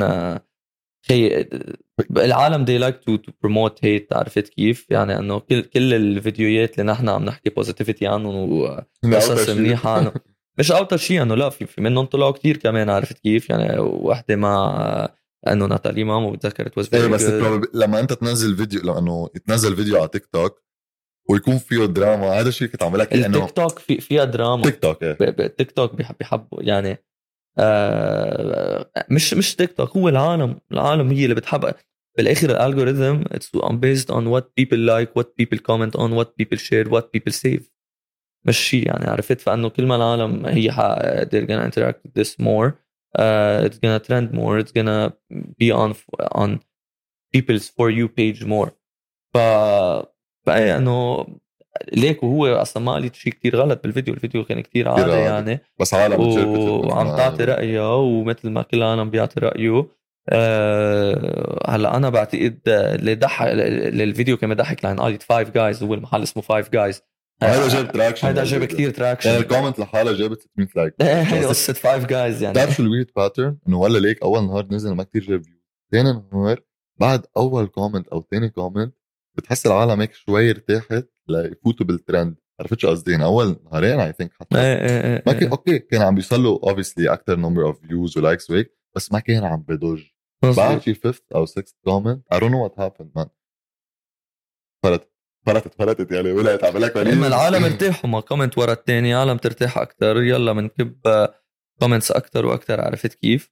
العالم they like to promote hate. عرفت كيف يعني انه كل الفيديوهات اللي نحن عم نحكي positivity عنهم وقصص منيحة عنه مش اوتر شيء انه لا في منهم طلعوا كتير كمان. عرفت كيف يعني واحدة مع انه ناتالي مامو بتذكر it was very بس لما انت تنزل فيديو لانه يتنزل فيديو على تيك توك ويكون فيه دراما هذا الشيء كنت عم لك انه التيك توك فيها دراما. تيك توك بيحبوا يعني مش تيك توك هو العالم هي اللي بتحب بالاخر الالجوريثم it's based on what people like, what people comment on, what people share, what people save. مش شيء يعني عرفت. فانه كل ما العالم هي they're gonna interact with this more, it's gonna trend more, it's gonna be on people's for you page more. فأي انه ليك وهو اصلا ما قالت شيء كتير غلط بالفيديو. الفيديو كان كتير عادي يعني بس عالم وعم تعطي رأيها ومثل ما كل العالم بيعطي رأيه. هلا انا بعتقد اللي ضحك الفيديو كان ضحك لان قالت 5 جايز هو المحل اسمه 5 جايز. هذا جاب تراكشن. هذا جاب كتير تراكشن يعني الكومنت لحالها جابت 600 لايك. هي قصة 5 جايز يعني. تعرف شو الويرد باترن انه ولا ليك اول نهار نزل ما كتير جاب فيو ثاني نهار بعد اول كومنت او ثاني كومنت بتحس العالم هيك شوي ارتاحت ليفوتوا بالترند. عرفت شو قصدي؟ اول نهارين اي ثينك حتى ما كان اوكي كان عم بيوصلوا obviously اكثر نمبر اوف فيوز ولايكس وهيك بس ما كان عم بدج. بعد شي 5th او 6th كومنت I don't know what happened man فرتت يعني ولقيت عم لك لما العالم ارتاحوا ما كومنت ورا الثاني عالم ترتاح اكثر يلا بنكب كومنتس اكثر واكثر. عرفت كيف؟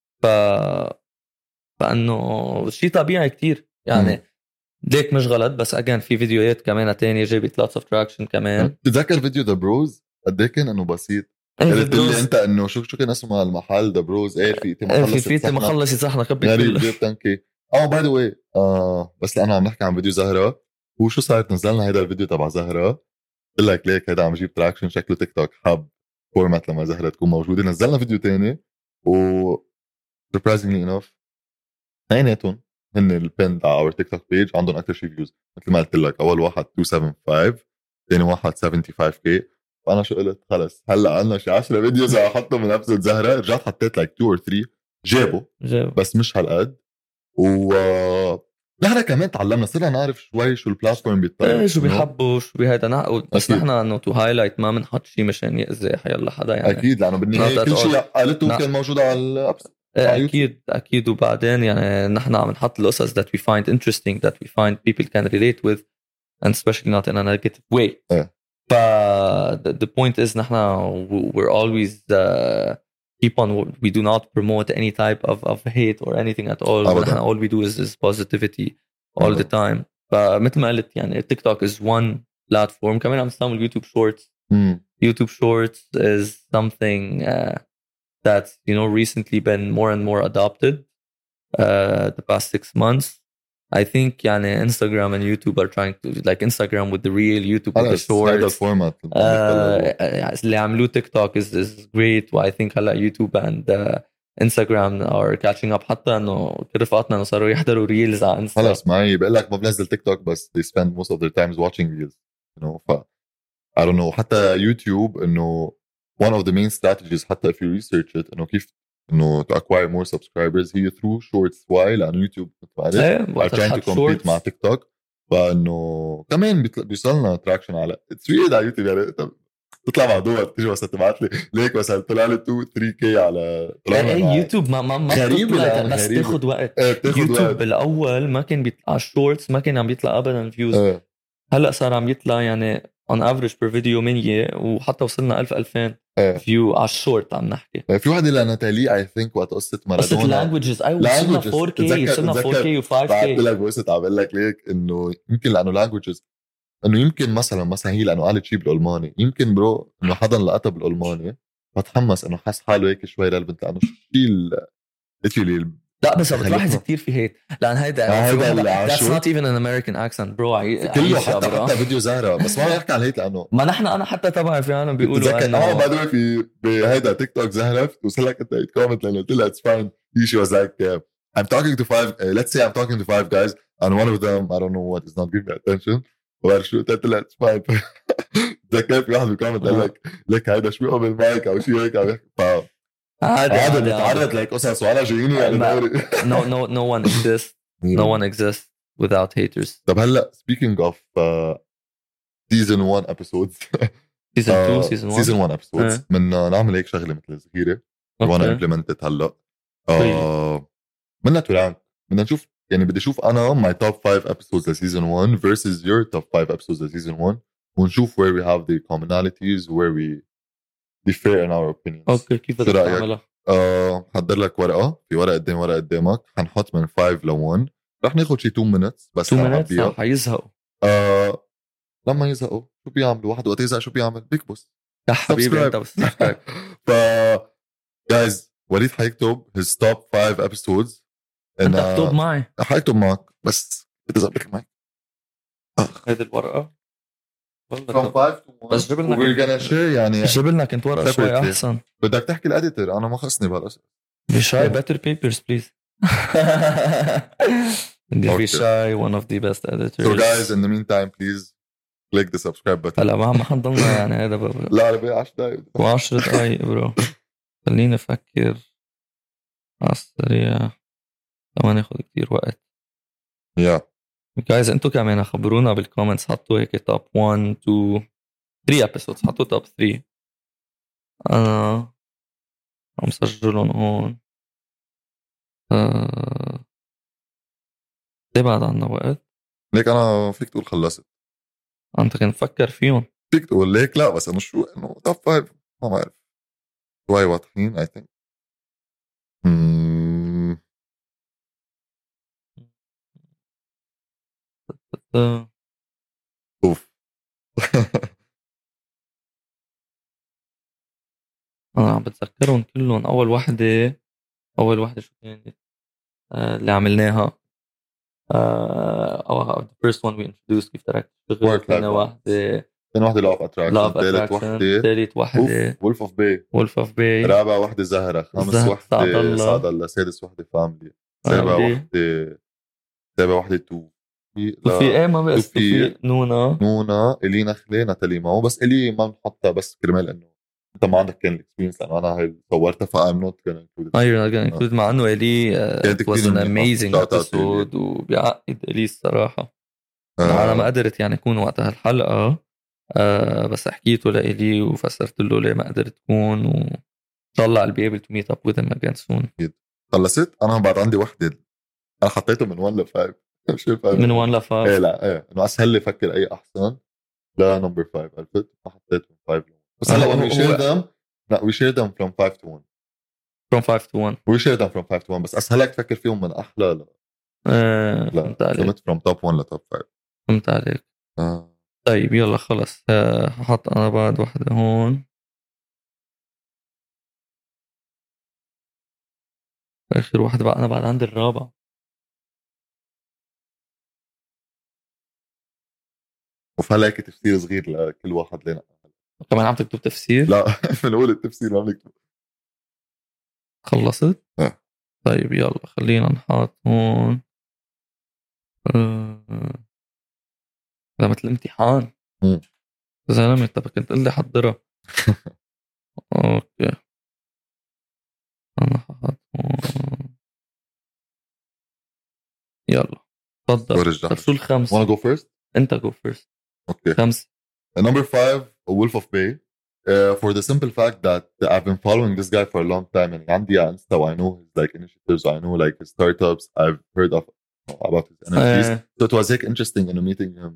فانه شيء طبيعي كتير يعني ليك مش غلط. بس اجان في فيديوهات كمان تانية جابت lots of traction كمان. تتذكر فيديو ذا بروز قد ايه كان انه بسيط؟ قلت لي انت انه شو كان اسمه المحل ذا بروز ايه في مخلص صحنا كبي غريب جيب تنكي باي ذا واي بس لانه عم نحكي عن فيديو زهرة وشو صارت نزلنا هيدا الفيديو تبع زهرة قلت لك ليك هيدا عم يجيب تراكشن شكله تيك توك حب فورمات لما زهرة تكون موجودة. نزلنا فيديو تاني و surprisingly enough اثنيناتهم هن البند على اور تيك توك بيج عندهم اكثر شي فيوز. مثل ما قلت لك اول واحد 275 ثاني واحد 75k. وانا شو قلت خلص هلا عندنا شي 10 فيديوز احطهم من ابسط زهرة. رجعت حطيت like 2 or 3 جابوا بس مش هالقد. و نحن كمان تعلمنا صرنا نعرف شوي شو البلاتفورم بيطلع شو بيحبوا شو بهيدا بس نحن انه تو هايلايت ما بنحط شيء مشان يأذي حيلا حدا يعني. اكيد لانه بالنهايه كل شيء قالته كان موجود على الابس. اكيد وبعدين يعني نحن عم نحط القصص that we find interesting, that we find people can relate with, and especially not in a negative way. ف the point is نحن we're always keep on, we do not promote any type of hate or anything at all. نحن all we do is positivity all the time. فمثل ما قلت يعني تيك توك is one platform. كمان عم نستعمل يوتيوب شورتس. YouTube Shorts is something that's recently been more and more adopted the past 6 months. I think يعني Instagram and YouTube are trying to, like Instagram with the real, YouTube with the shorts. اللي عملوه تيك توك is great. و I think هلا YouTube and Instagram are catching up. حتى انه كل رفقاتنا انه صاروا يحضروا ريلز على انستا. خلص معي بقول لك ما بنزل تيك توك بس they spend most of their times watching reels, ف I don't know. حتى يوتيوب انه one of the main strategies حتى if you research it انه كيف انه to acquire more subscribers هي through shorts. why؟ لانه يوتيوب are trying to compete مع تيك توك. فانه كمان بيوصلنا تراكشن على it's weird على يوتيوب. يعني تطلع مع دوت تيجي بس تبعت لي ليك مثلا طلع لي 2-3K على يوتيوب ما غريب بس تاخذ وقت. يوتيوب بالاول ما كان بيطلع الشورتس, ما كان عم بيطلع ابدا فيوز. هلا صار عم يطلع يعني on average per video 100 وحتى وصلنا 1000-2000 فيو على الشورت. عم نحكي في واحد لنا تعليق I think وقت قصة مارادونا languages. وصلنا 4K وصلنا 4K و5K. بعت لك بوست عمل لك ليك انه يمكن لانه languages انه يمكن مثلا هي لانه قالت شيء بالالماني يمكن برو انه حدا لقطها بالالماني فتحمس انه حس حاله هيك شوي ريليفنت لانه شيء لا بس بتلاحظ كتير في هيك لان هيدا that's not even an American accent bro. كله حتى فيديو زهرة بس ما بحكي على هيك لانه ما نحن انا حتى تبعي في عالم بيقولوا انه بعد في بهيدا تيك توك زهرة وصل لك انت كومنت لانه قلت لها it's fine. She was like I'm talking to 5 let's say I'm talking to 5 guys and one of them I don't know what is not giving me attention وشو قلت لها it's fine. ذكرت في واحد بالكومنت قال لك هيدا شو قبل مايك او شيء هيك عم يحكي هذا بتعرض لك قصص وانا جاييني يعني no one exists. No one exists without haters. طب هلا speaking of season 1 episodes season 1 episodes من نعمل هيك شغله مثل صغيره وانا implemented هلا بدنا ترانك. بدنا نشوف يعني بدي اشوف انا my top 5 episodes of season 1 versus your top 5 episodes of season 1 ونشوف where we have the commonalities where we differ in our opinions. اوكي كيف بدك تعملها؟ حضر لك ورقه في ورقه قدامك حنحط من 5 ل 1 رح ناخذ شي 2 minutes بس 2 minutes حيزهقوا. لما يزهقوا شو بيعملوا واحد وقت يزهق شو بيعمل بيكبس يا حبيبي انت بس ف guys وليد حيكتب his top 5 episodes. انت اكتب معي حيكتب معك بس بدي اظبط معك هذه الورقه from 5 to 1 بس جبلنا we're gonna share يعني جبلنا كنت ورقه شوي احسن. بدك تحكي الاديتور انا ما خصني بهالقصه. بشاي better papers please. Bishai one of the best editors. So guys in the meantime please click the subscribe button. هلا ما حنضلنا يعني هذا لا ربي 10 دقايق و10 دقايق برو. خليني افكر على السريع لما ناخذ كتير وقت. guys انتو كمان خبرونا بالكومنتس حطوا هيك توب 1 2 3 episodes. حطوا توب 3 انا عم سجلهم هون. ليه بعد عنا وقت ليك انا فيك تقول خلصت انت كنت تفكر فيهم فيك تقول ليك لا بس انا شو انه توب 5 ما بعرف شوي واضحين I think. اوف انا عم بتذكرهم كلهم. اول واحدة شو كانت اللي عملناها the first one we introduced كيف تركت شغل. ثاني واحدة Law of Attraction. ثالث واحدة Wolf of Bay. رابع واحدة زهرة. خامس واحدة سعد الله. سادس واحدة فاملي. سابع واحدة تو في ما بس في نونا إلي نخلة ناتالي ماو بس إلي ما نحطها بس كرمال إنه انت ما عندك كان الاكسبيرينس لانه انا هاي صورتها فايم نوت كان انكلود. ايوه كنت مع انه الي كانت it was كثير an منيحه. amazing شوت اوت لي. episode وبيعقد الي الصراحه. انا ما قدرت يعني اكون وقتها الحلقه بس حكيته لإلي وفسرت له ليه ما قدرت تكون وان شاء الله I'll be able to meet up with him again soon. خلصت. انا بعد عندي وحده انا حطيته من 1 ل 5 مش من 1 ل 5 ايه لا ايه انه اسهل لي افكر اي احسن لا نمبر 5 عرفت ما حطيت من 5 بس هلا when we share them لا we share them from 5 to 1 from 5 to 1 we share them from 5 to 1 بس اسهلك تفكر فيهم من احلى لا فهمت عليك from top 1 ل top 5 فهمت عليك. طيب يلا خلص هحط انا بعد واحدة هون اخر واحدة بقى. انا بعد عندي الرابع وفلاك تفسير صغير لكل واحد لنا كمان عم تكتب تفسير. لا بنقول التفسير ما بنكتب. خلصت طيب يلا خلينا نحط هون ده مثل الامتحان زلمة. طب كنت قل لي حضرها. اوكي انا حاط هون يلا تفضل. طب شو الخمس؟ wanna go first؟ انت go first. اوكي 5 number 5 Wolf of Bay. For the simple fact that I've been following this guy for a long time and عندي على Insta I know his like initiatives, I know like his startups, I've heard of about his NFTs. So it was like interesting in meeting him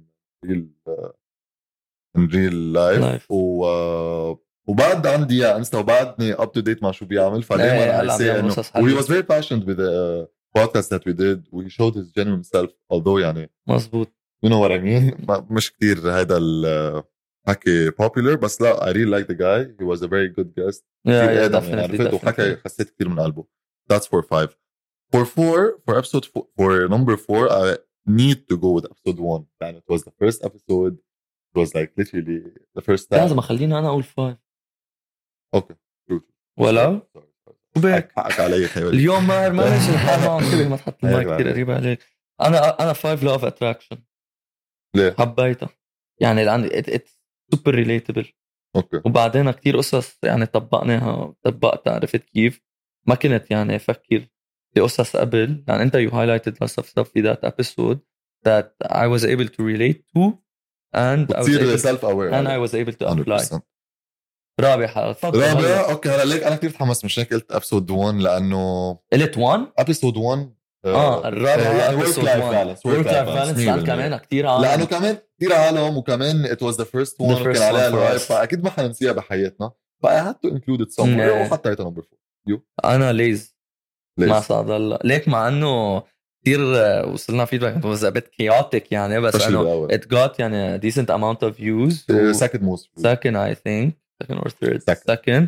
in real life. وبعد عندي على Insta وبعدني up to date مع شو بيعمل فدايما I say انه he was very passionate with the podcast that we did we showed his genuine self although يعني مزبوط you know what I mean مش كتير هذا حكي popular بس لا I really like the guy he was a very good guest definitely وحكي حسيت كتير من قلبه. That's for 5. For episode for number 4 I need to go with episode 1 and it was the first episode. It was like literally the first time. لازم خليني انا اقول 5. اوكي ولا وبيك حقك علي اليوم ما ماشي الحال معه انتبه ما تحط المايك كثير قريب عليك. انا 5 love attraction. ليه؟ حبيتها يعني لأن it's super relatable. اوكي وبعدين كتير قصص يعني طبقتها عرفت كيف ما كنت يعني افكر في قصص قبل يعني انت you highlighted lots of stuff في that episode that I was able to relate to and I was able to apply. رابع اوكي هلا ليك انا كثير تحمست مش هيك قلت ابسود 1 لانه قلت 1 ابسود 1 الرابع يعني ورك لايف بالانس كمان كثير عالم لانه كمان كثير عالم وكمان it was the first one وكان عليها الهايب فاكيد ما حننسيها بحياتنا ف I had to include it somewhere وحطيتها نمبر 4. انا ليز ما صاد الله ليك مع انه كثير وصلنا فيدباك was a bit chaotic يعني بس انه it got يعني decent amount of views second I think second or third second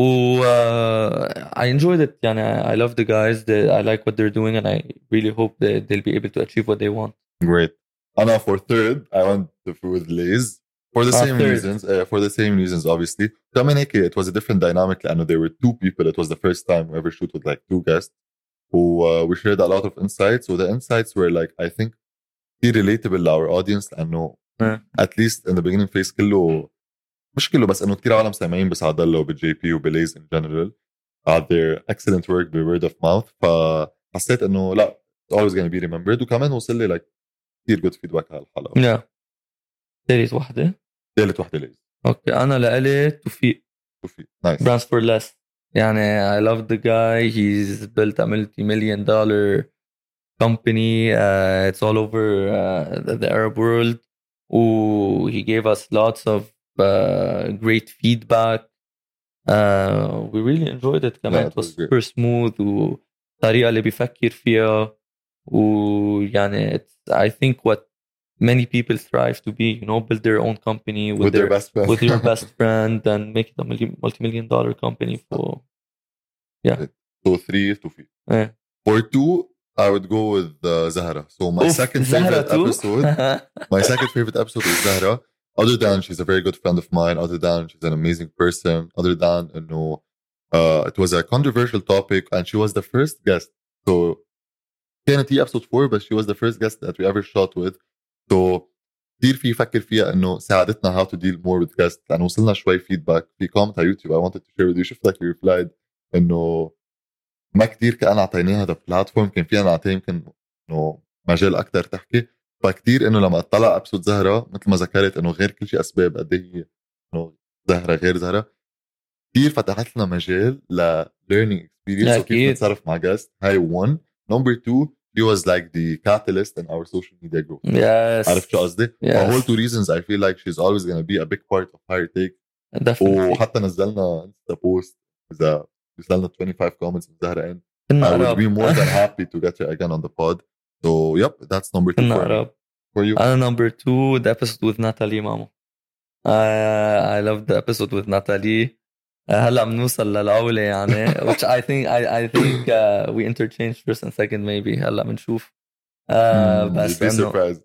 I enjoyed it يعني I love the guys I like what they're doing and I really hope that they'll be able to achieve what they want. Great. أنا for third I went with Lays for the same reasons obviously. كمان هيك it was a different dynamic لأنه there were two people. It was the first time we ever shoot with like two guests we shared a lot of insights. So the insights were like I think relatable to our audience لأنه at least in the beginning phase كله مش كله بس انه كتير عالم سامعين بسعد الله وبجي بي وبليز in general had their excellent work by word of mouth فحسيت انه لا it's always going to be remembered وكمان وصل لي like كتير good feedback على الحلقة. ثالث واحدة ليز. اوكي انا لقلي توفيق nice brands for less يعني I love the guy he's built a multi-million-dollar company it's all over the Arab world he gave us lots of great feedback we really enjoyed it كمان it was super smooth والطريقة اللي بيفكر فيها ويعني I think what many people strive to be build their own company with your best friend and make it a multi-million-dollar company for so 3 to 4 for 2 I would go with Zahra. So my second favorite episode is Zahra. Other than she's a very good friend of mine, other than she's an amazing person, other than it was a controversial topic and she was the first guest. So كانت هي episode 4 but she was the first guest that we ever shot with. So كتير في يفكر فيها انه ساعدتنا how to deal more with guests لانه وصلنا شوي feedback في comment على يوتيوب I wanted to share with you. شفت لك you replied انه ما كتير كأن اعطيناها هذا بلاتفورم كان فينا نعطيه يمكن انه مجال اكتر تحكي. فكتير انه لما اطلع ابسود زهرة مثل ما ذكرت انه غير كل شيء اسباب قد هي انه زهرة غير زهرة كتير فتحت لنا مجال ل learning experience وكيف نتصرف مع guest. هاي one. Number two, he was like the catalyst in our social media growth. Yes. عرفت شو قصدي؟ Yes. For whole two reasons I feel like she's always going to be a big part of Higher Take. Definitely. وحتى نزلنا انستا بوست إذا وصلنا 25 comments من زهرة I would be more than happy to get her again on the pod. So yep, that's number two for you. Number two, the episode with Natalie Mamo. I loved the episode with Natalie. هلا بنوصل للأولى يعني which I think we interchange first and second maybe هلا بنشوف بس إنه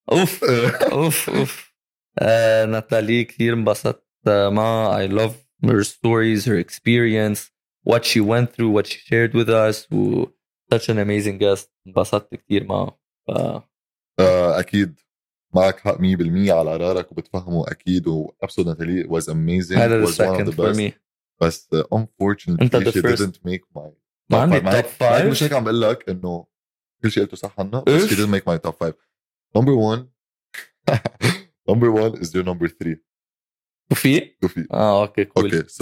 اوف ناتالي كثير انبسطت معها. I love her stories, her experience, what she went through, what she shared with us. Such an amazing guest. انبسطت كثير معها. أكيد معك حق 100% على قرارك وبتفهمه أكيد. وأبسود ناتالي was amazing. هذا was one of the best. me. بس unfortunately she didn't make my ما عندي top 5. مش هيك عم بقول لك إنه كل شيء قلته صح عنها بس she didn't make my top 5. Number one is your number 3. توفيق. Okay, cool. Okay, so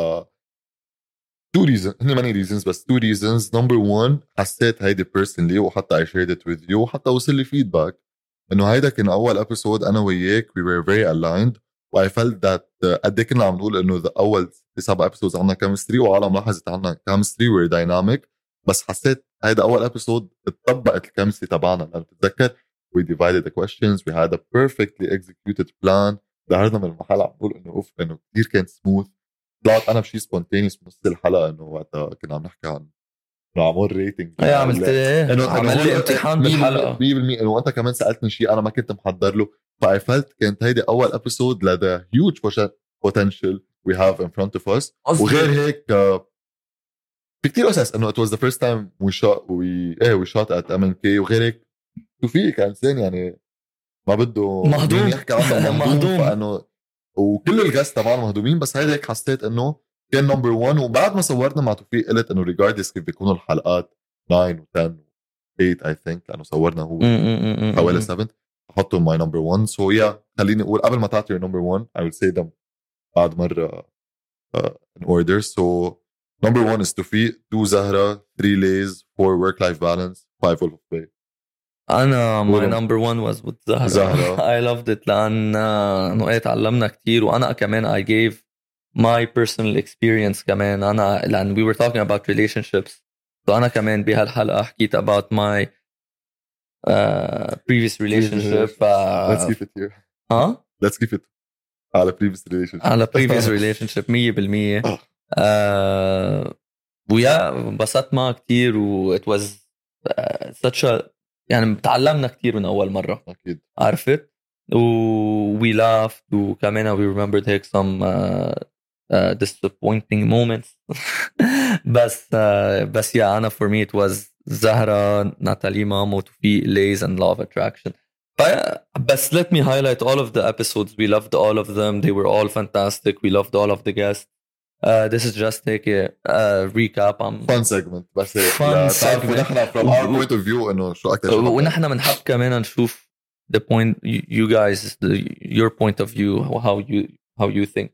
two reasons. هني many reasons بس two reasons. Number one, حسيت هيدي personally وحتى I shared it with you وحتى وصل لي feedback إنه هيدا كان أول episode أنا وياك we were very aligned. و I felt that قد ايه كنا عم نقول إنه أول 7 episodes عنا chemistry وعالم لاحظت عنا chemistry we're dynamic. بس حسيت هيدا أول episode اتطبقت الكيمستري تبعنا. لأن تتذكر we divided the questions, we had a perfectly executed plan. ظهرنا من المحل عم نقول إنه كتير كان smooth. طلعت أنا بشي spontaneous بنص الحلقة إنه وقتها كنا عم نحكي عن عمول ريتنج. عملت ايه؟ عمل لي امتحان بالحلقة 100% إنه أنت كمان سألتني شيء أنا ما كنت محضر له. فأي فلت كانت هيدي أول episode لدى huge potential we have in front of us. وغير هيك في كتير أساس إنه it was the first time we shot at MNK. وغير هيك توفيق كإنسان يعني ما بده مهضوم يحكي عنه مهضوم. فإنه وكل الجاست طبعا مهضومين بس هيدا هيك حسيت إنه كان نمبر 1. وبعد ما صورنا مع توفيق قلت إنه regardless كيف بيكونوا الحلقات 9 و 10 و 8 I think لأنه صورنا هو حوالي 7 أحطهم my number 1. so yeah خليني أقول قبل ما تعطي number 1 I will say them بعد مرة in order. So number 1 is توفيق, 2 زهرة, 3 ليز, 4 work life balance, 5 Wolf of Play. أنا my number 1 was with زهرة. I loved it لأن تعلمنا كتير. وأنا كمان I gave my personal experience كمان. أنا لأن we were talking about relationships. So أنا كمان بهالحلقة حكيت about my previous relationship. Let's keep it here. Let's keep it على previous relationship 100%. ويا انبسطت معه كتير و it was such a يعني تعلمنا كتير من أول مرة. أكيد. عرفت و we laughed وكمان we remembered هيك some disappointing moments. بس يا أنا for me it was زهرة, ناتالي مامو, توفيق, ليز and law of attraction. بس let me highlight all of the episodes. We loved all of them. They were all fantastic. We loved all of the guests. This is just like a recap. Fun segment. بس fun segment. ونحن from our point of view إنه شو أكتر. ونحن بنحب كمان نشوف the point you guys, your point of view, how you think.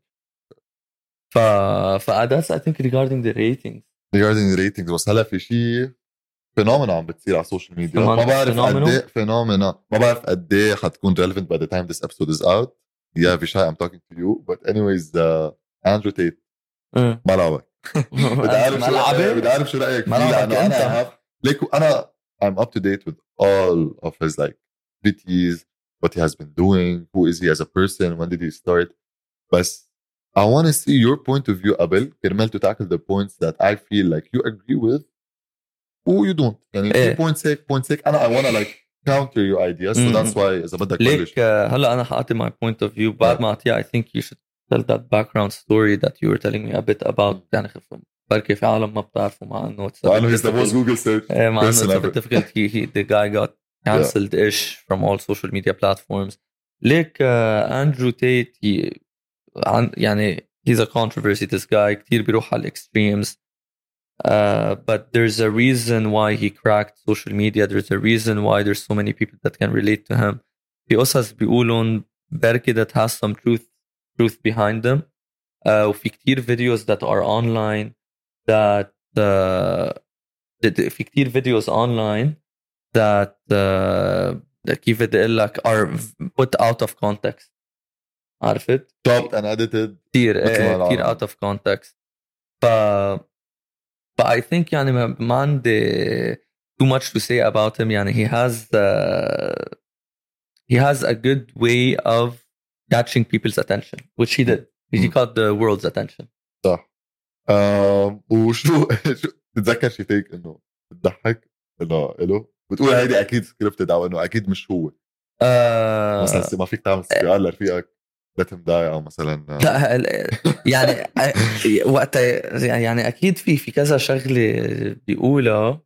That's I think regarding the ratings. Regarding the ratings بس هلا في شيء فينومينا عم بتصير على السوشيال ميديا. ما بعرف قديه فينومينا. ما بعرف قديه حتكون relevant by the time this episode is out. Yeah, Vishai, I'm talking to you. But anyways, Andrew Tate. ما لعبك. بدي أعرف شو رأيك فيه لأنه أنا I'm up to date with all of his like activities, what he has been doing, who is he as a person, when did he start. But I want to see your point of view قبل كرمال to tackle the points that I feel like you agree with or you don't. يعني في points هيك أنا I want to like counter your ideas. So that's why إذا بدك ليك هلا أنا حاعطي my point of view بعد ما أعطيها. I think you should tell that background story that you were telling me a bit about. يعني خفهم بركي في عالم ما بتعرفوا مع إنه he's the most Google search مع إنه it's a bit difficult. The guy got cancelled-ish from all social media platforms. ليك أندرو تيت يعني he's a controversy this guy كتير بيروح على extremes but there's a reason why he cracked social media. There's a reason why there's so many people that can relate to him. في قصص بيقولون بركي that has some truth behind them. وفي كتير videos that are online that في كتير videos online that كيف بدي اقول لك are put out of context. عرفت؟ chopped and edited كتير out of context. But I think يعني ما عندي too much to say about him. يعني he has a good way of catching people's attention, which he did. He caught the world's attention. صح. وشو تتذكر شي تيك انه بتضحك انه له بتقول هيدي اكيد سكريبتد او انه اكيد مش هو مثلا ما فيك تعمل سؤال لرفيقك لا تمداي او مثلا لا يعني وقتها يعني اكيد في كذا شغله بيقولها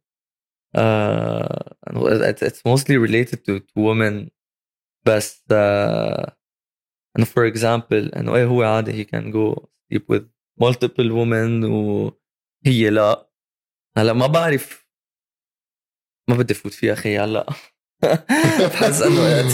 it's mostly related to women بس انه for example انه ايه هو عادي he can go sleep with multiple women وهي لا. هلا ما بعرف ما بدي فوت فيها اخي هلا بحس انه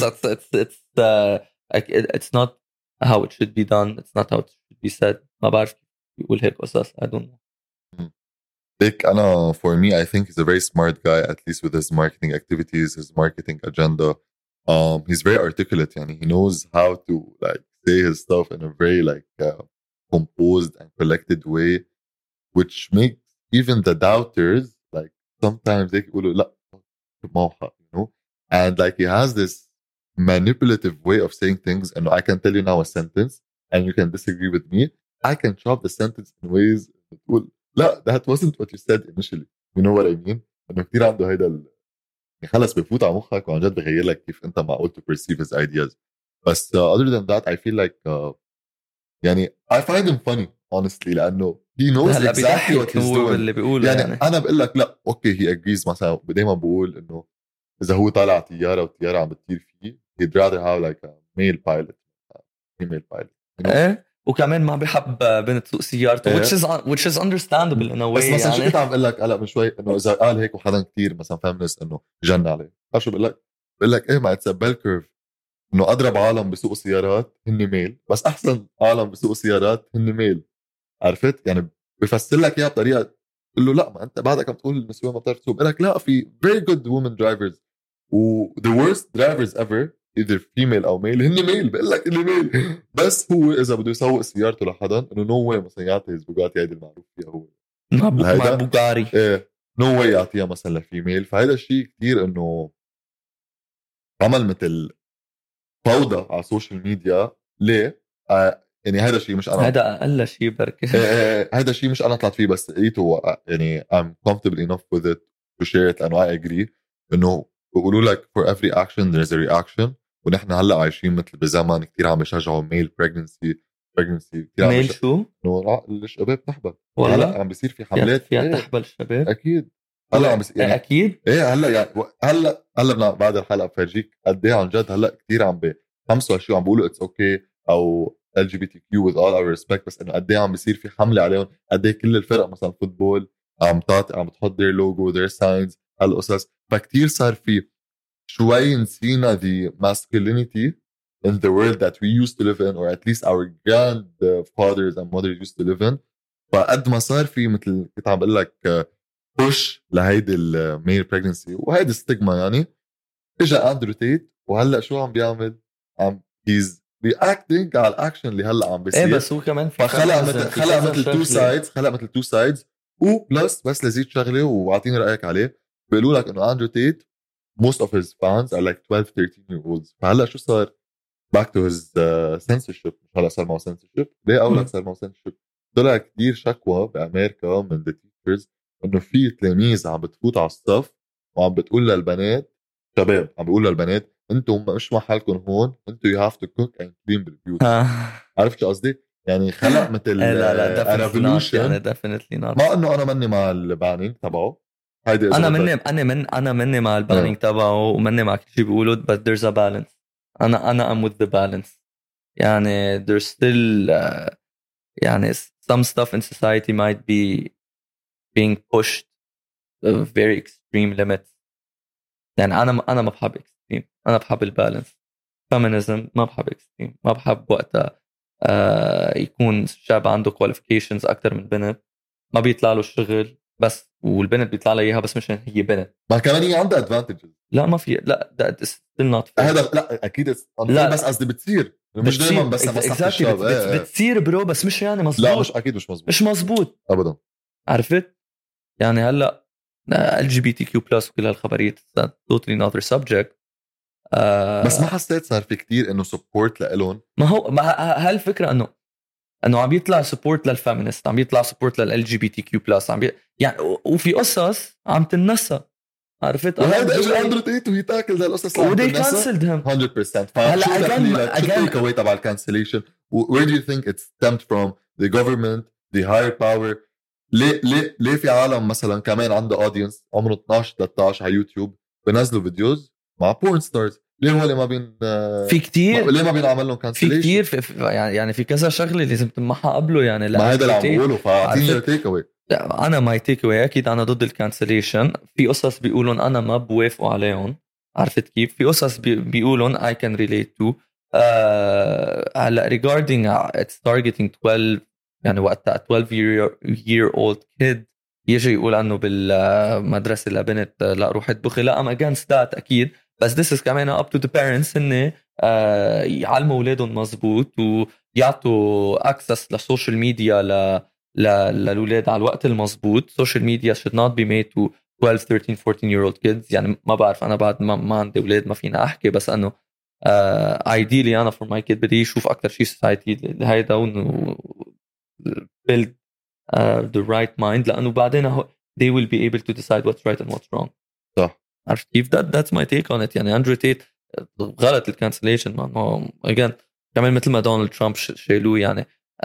it's not how it should be done. It's not how it should be said. ما بعرف يقول هيك قصص. I don't know. Dick, أنا for me I think he's a very smart guy, at least with his marketing activities, his marketing agenda. He's very articulate يعني he knows how to like say his stuff in a very like composed and collected way, which makes even the doubters like sometimes they يقولوا لا ما حق, you know, and like he has this manipulative way of saying things, and I can tell you now a sentence and you can disagree with me. I can chop the sentence in ways تقول لا that wasn't what you said initially. You know what I mean? انه كتير عنده هيدا خلص بفوت على مخك وعن جد بغير لك كيف انت معقول to perceive his ideas. بس other than that I feel like يعني I find him funny honestly لانه he knows exactly what he's doing. اللي بيقوله يعني انا بقول لك لا اوكي he agrees مثلا دايما بقول انه اذا هو طالع طياره والطياره عم بتطير فيه he'd rather have like a male pilot female pilot, you know? ايه وكمان ما بيحب بنت تسوق سيارته which is understandable in a way. بس مثلا يعني شو كنت عم بقول لك هلا من شوي انه اذا قال هيك وحدا كتير مثلا فيمنست انه جن عليه شو بقول لك ايه ما اتس بيل كيرف انه اضرب عالم بسوق سيارات هن ميل بس احسن عالم بسوق سيارات هن ميل. عرفت يعني بفسر لك اياها بطريقه تقول له لا ما انت بعدك عم تقول النسوان ما بتعرف تسوق. بقول لك لا في very good women drivers و the worst drivers ever either female او male هن ميل. بقول لك اللي ميل بس هو اذا بده يسوق سيارته لحدا انه نو واي مثلا يعطي البوغاتي هيدي المعروف فيها هو مع بوغاري ايه نو واي يعطيها مثلا لفيميل. فهذا الشيء كتير انه عمل مثل فوضى على السوشيال ميديا. ليه؟ يعني هذا الشيء مش انا هذا اقل شيء بركي هذا الشيء مش انا طلعت فيه بس لقيته يعني I'm comfortable enough with it to share it and I agree انه بيقولوا لك for every action there's a reaction. ونحن هلا عايشين مثل بزمن كتير عم بيشجعوا male pregnancy كتير عم ميل شو؟ انه الشباب تحبل. والله هلا عم بيصير في حملات فيها تحبل الشباب اكيد هلا عم بيصير يعني اكيد ايه هلا يعني هلا بعد الحلقه بفرجيك قد ايه عن جد هلا كتير عم بخمسوا هالشيء عم بيقولوا اتس اوكي او LGBTQ with all our respect. بس انه قد ايه عم بيصير في حمله عليهم. قد ايه كل الفرق مثلا فوتبول عم بتحط their logo their signs هالقصص. فكتير صار في شوي نسينا the masculinity in the world that we used to live in or at least our grandfathers and mothers used to live in. فقد ما صار في مثل كنت عم بقول لك push لهيدي الميل pregnancy وهيدي ستيغما يعني اجا اندرو تيت وهلا شو عم بيعمل؟ عم he's reacting على الاكشن اللي هلا عم بيصير. ايه بس هو كمان فخلق مثل تو سايدز خلق مثل تو سايدز وبلس بس لزيد شغله واعطيني رايك عليه. بيقولوا لك انه اندرو تيت most of his fans are like 12 13 year olds. فهلا شو صار back to his censorship. مش هلا صار معه censorship ليه اول صار معه censorship. طلع كتير شكوى بامريكا من the teachers انه في تلاميذ عم بتفوت على الصف وعم بتقول للبنات شباب عم بيقول للبنات انتم مش محلكم هون انتم you have to cook and clean بالبيوت. عرفت شو قصدي؟ يعني خلق مثل لا revolution يعني definitely not. ما انه انا مني مع البانينج تبعه هيدي انا مني مع البانينج تبعه ومني مع كل شيء بيقولوا but there's a balance. انا I'm with the balance. يعني there's still يعني some stuff in society might be being pushed to very extreme limits. يعني انا ما بحب extreme، انا بحب البالانس. feminism ما بحب extreme، ما بحب وقتها يكون شاب عنده qualifications اكتر من بنت، ما بيطلع له الشغل بس، والبنت بيطلع لها اياها بس مشان هي بنت. ما كمان هي عندها advantages. لا ما في، لا that is still not fair. هذا لا اكيد لا بس قصدي بتصير مش دائما بس مصلحة الشاب. بتصير برو، بس مش يعني مزبوط. لا مش اكيد مش مزبوط، مش مزبوط ابدا. عرفت يعني هلا LGBTQ+ وكل هالخبريات totally another subject. بس ما حسيت صار في كتير انه سبورت لإلهم. ما هو هالفكره انه عم يطلع سبورت للفيمينست، عم يطلع سبورت للLGBTQ+، يعني وفي قصص عم تنسى. عرفت وهذا اجى اندرو تيت وهي تاكل هالقصص ودي كانسلد هيم 100%. هلا شو التيك اواي تبع الكانسليشن؟ where do you think it stemmed from? the government, the higher power? ليه في عالم مثلا كمان عنده اودينس عمره 12 13 على يوتيوب بنزلوا فيديوز مع بورن ستارز؟ ليه هو ما بين في كتير، ليه ما بينعمل لهم كانسليشن؟ في كتير يعني في كذا شغله لازم تمحى قبله. يعني ما هذا اللي عم بقوله. فاعطيني التيك اواي. انا ماي تيك اواي اكيد انا ضد الكانسليشن. في قصص بيقولون انا ما بوافقوا عليهم، عرفت كيف؟ في قصص بيقولون I can relate to. هلا regarding it's targeting 12، يعني وقتها 12 year old kid يجي يقول انه بالمدرسه لبنت لا روح اطبخي، لا I'm against that اكيد. بس this is كمان up to the parents انه يعلموا اولادهم مزبوط ويعطوا access للسوشيال ميديا للولاد على الوقت المزبوط. social media should not be made to 12 13 14 year old kids. يعني ما بعرف، انا بعد ما عندي اولاد ما فينا احكي، بس انه ideally انا for my kid بدي يشوف اكثر شيء society هيدا و build the right mind، لانه بعدين they will be able to decide what's right and what's wrong. صح. عرفت كيف؟ that's my take on it. يعني اندرو تيت غلط الكانسليشن. ما again كمان مثل ما دونالد ترامب شيلوه. يعني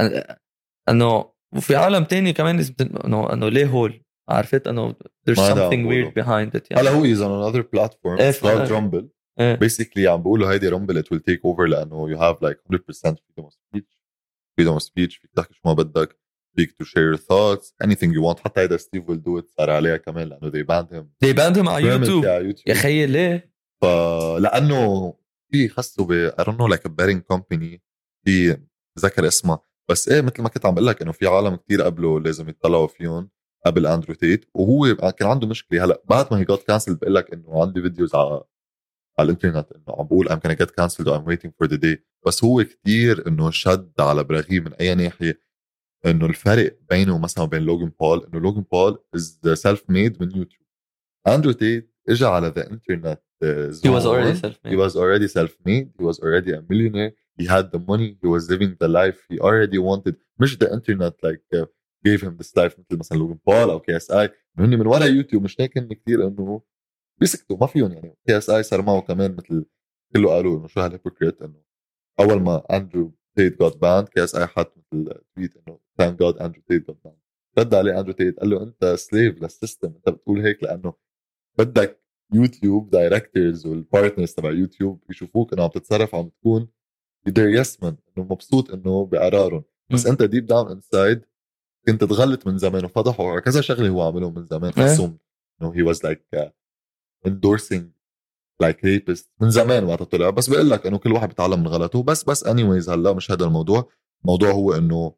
انه وفي عالم تاني كمان انه ليه هول، عرفت انه there's something weird behind it. يعني هلا هو is on another platform called Rumble. basically عم بقولوا هيدي Rumble it will take over لانه you have like 100% freedom of speech. فيك تحكي شو ما بدك، فيك to share your thoughts anything you want. حتى هيدا ستيف will do it صار عليها كمان لانه they banned him على يوتيوب. يا خيي ليه؟ لانه في خصو ب I don't know like a betting company في ذكر اسمها، بس ايه مثل ما كنت عم بقول لك انه في عالم كتير قبله لازم يطلعوا فيهم قبل اندرو تيت، وهو كان عنده مشكله. هلا بعد ما هي got cancelled بقول لك انه عندي فيديوز على الانترنت انه عم بقول I'm gonna get cancelled or I'm waiting for the day. بس هو كتير انه شد على براغيه من اي ناحيه. انه الفرق بينه مثلا وبين لوغان بول انه لوغان بول is self made من يوتيوب. اندرو تيت اجى على the internet he was already self-made. He was already self-made. He was already a millionaire. He had the money. He was living the life he already wanted. مش the internet like gave him this life مثل مثلا لوغان بول او KSI. هن من ورا يوتيوب. مش هيك كثير انه بيسكتوا ما فيهم. يعني KSI صار معه كمان مثل كله قالوا انه شو هالهيبوكريت. انه اول ما اندرو تيت got banned KSI حط مثل تويت انه thank God Andrew Tate got banned. رد عليه اندرو تيت قال له انت سليف للسيستم، انت بتقول هيك لانه بدك يوتيوب دايركتورز والبارتنرز تبع يوتيوب يشوفوك انه عم تتصرف عم تكون يدير يسمن انه مبسوط انه بقرارهم. بس انت ديب داون انسايد كنت تغلط من زمان وفضحوا على كذا شغله هو عملهم من زمان. حسهم انه he was like endorsing like rapist من زمان وقت طلع. بس بقول لك انه كل واحد بيتعلم من غلطه. بس anyways هلا مش هذا الموضوع هو انه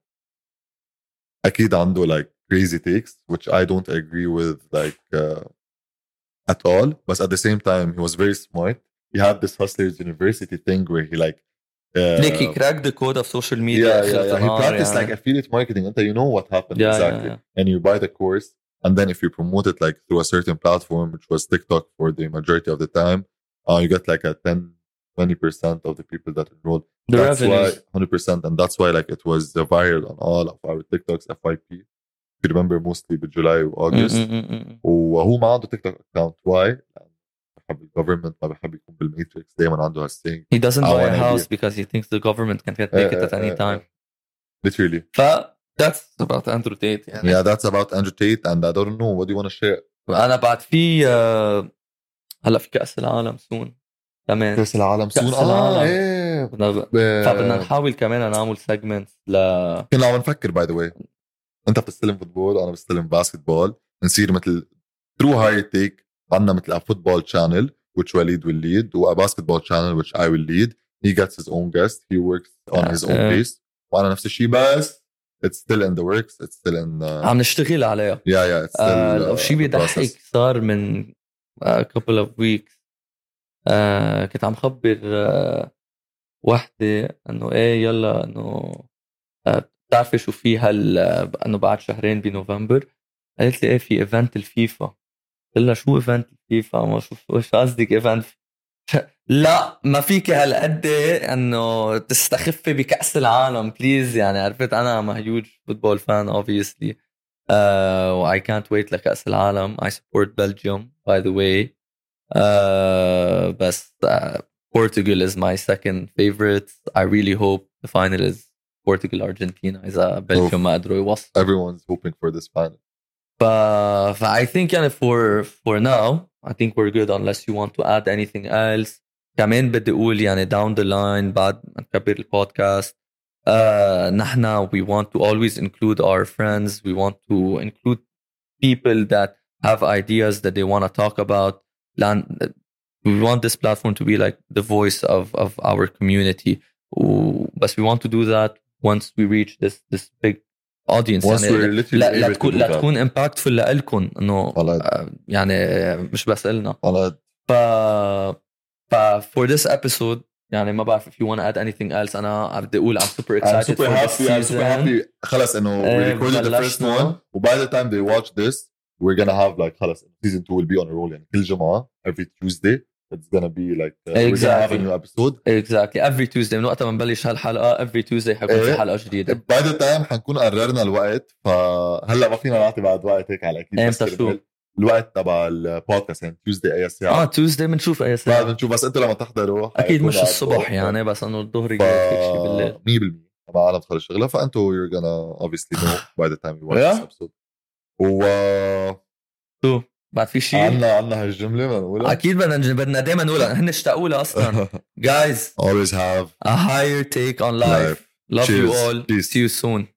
اكيد عنده like crazy takes which I don't agree with like at all. But at the same time he was very smart. He had this Hustlers University thing where he like like he cracked the code of social media. He practiced like affiliate marketing. And you know what happened exactly. And you buy the course and then if you promote it like through a certain platform, which was TikTok for the majority of the time, you get like a 10-20% of the people that enrolled. The that's revenues. why 100%. And that's why like it was viral on all of our TikToks FYP. If you remember mostly بجولاي وأغسطس. وهو ما عنده TikTok account. Why? بحب الجوفرمنت، ما بحب يكون بالماتريكس. دايما عنده هالسينج. He doesn't buy a house because he thinks the government can take it at any time. Literally. That's about Andrew Tate. يعني. Yeah, that's about Andrew Tate. And I don't know what do you want to share. أنا بعد في هلا في كأس العالم soon. كمان كاس العالم سون. كأس العالم. ايه فبدنا نحاول كمان نعمل سيجمنت كنا عم نفكر باي ذا واي، انت بتستلم فوتبول انا بستلم باسكتبول، نصير مثل ترو هاي تيك. عندنا مثل a football channel which Walid will lead و a basketball channel which I will lead. He gets his own guest, he works on his own pace. وانا نفس الشيء بس it's still in the works, it's still in عم نشتغل عليها. yeah it's still لو شيء بيضحك صار من couple of weeks. كنت عم خبر وحدة انه ايه يلا انه بتعرفي شو في انه بعد شهرين بنوفمبر. قالت لي ايه في ايفنت الفيفا. قلت لها شو ايفنت الفيفا؟ ما شو قصدك ايفنت؟ لا ما فيك هالقد انه تستخفي بكأس العالم بليز. يعني عرفت انا ام هيوج فوتبول فان obviously و I can't wait لكأس العالم. I support Belgium by the way بس Portugal is my second favorite. I really hope the final is Portugal Argentina إذا Belgium ما قدروا يوصل. Everyone's hoping for this final. I think يعني for now I think we're good unless you want to add anything else. كمان بدي أقول يعني down the line بعد ما نكبر البودكاست نحنا we want to always include our friends. We want to include people that have ideas that they want to talk about. We want this platform to be like the voice of our community. But we want to do that once we reach this big audience. يعني لا تكون impactful لإلكم إنه يعني مش بس إلنا. For this episode يعني ما بعرف if you want to add anything else. أنا بدي أقول I'm super excited for this season. I'm super happy. خلاص إنه we recorded the first one. و by the time they watch this we're gonna have like خلاص season 2 will be on a roll. يعني كل جمعة every Tuesday it's gonna be like we're gonna have a new episode. Exactly every Tuesday من وقت ما نبلش هالحلقة every Tuesday حيكون في حلقة جديدة. by the time حنكون قررنا الوقت. فهلا ما فينا نعطي بعد وقت هيك على أكيد. امتى شو الوقت تبع البودكاست يعني Tuesday أي ساعة؟ Tuesday بنشوف أي ساعة. بنشوف بس أنت لما تحضروا أكيد مش الصبح يعني بس إنه الظهر هيك شيء بالليل 100% طبعا أنا بخلص شغلة. فأنتوا you're gonna obviously know by the time you watch this episode. شو بعد في شيء عنا هالجملة بنقولها أكيد بدنا دايما نقولها. هن اشتاقوا لها أصلا. Guys always have a higher take on life. Love Cheers. you all. Peace. See you soon.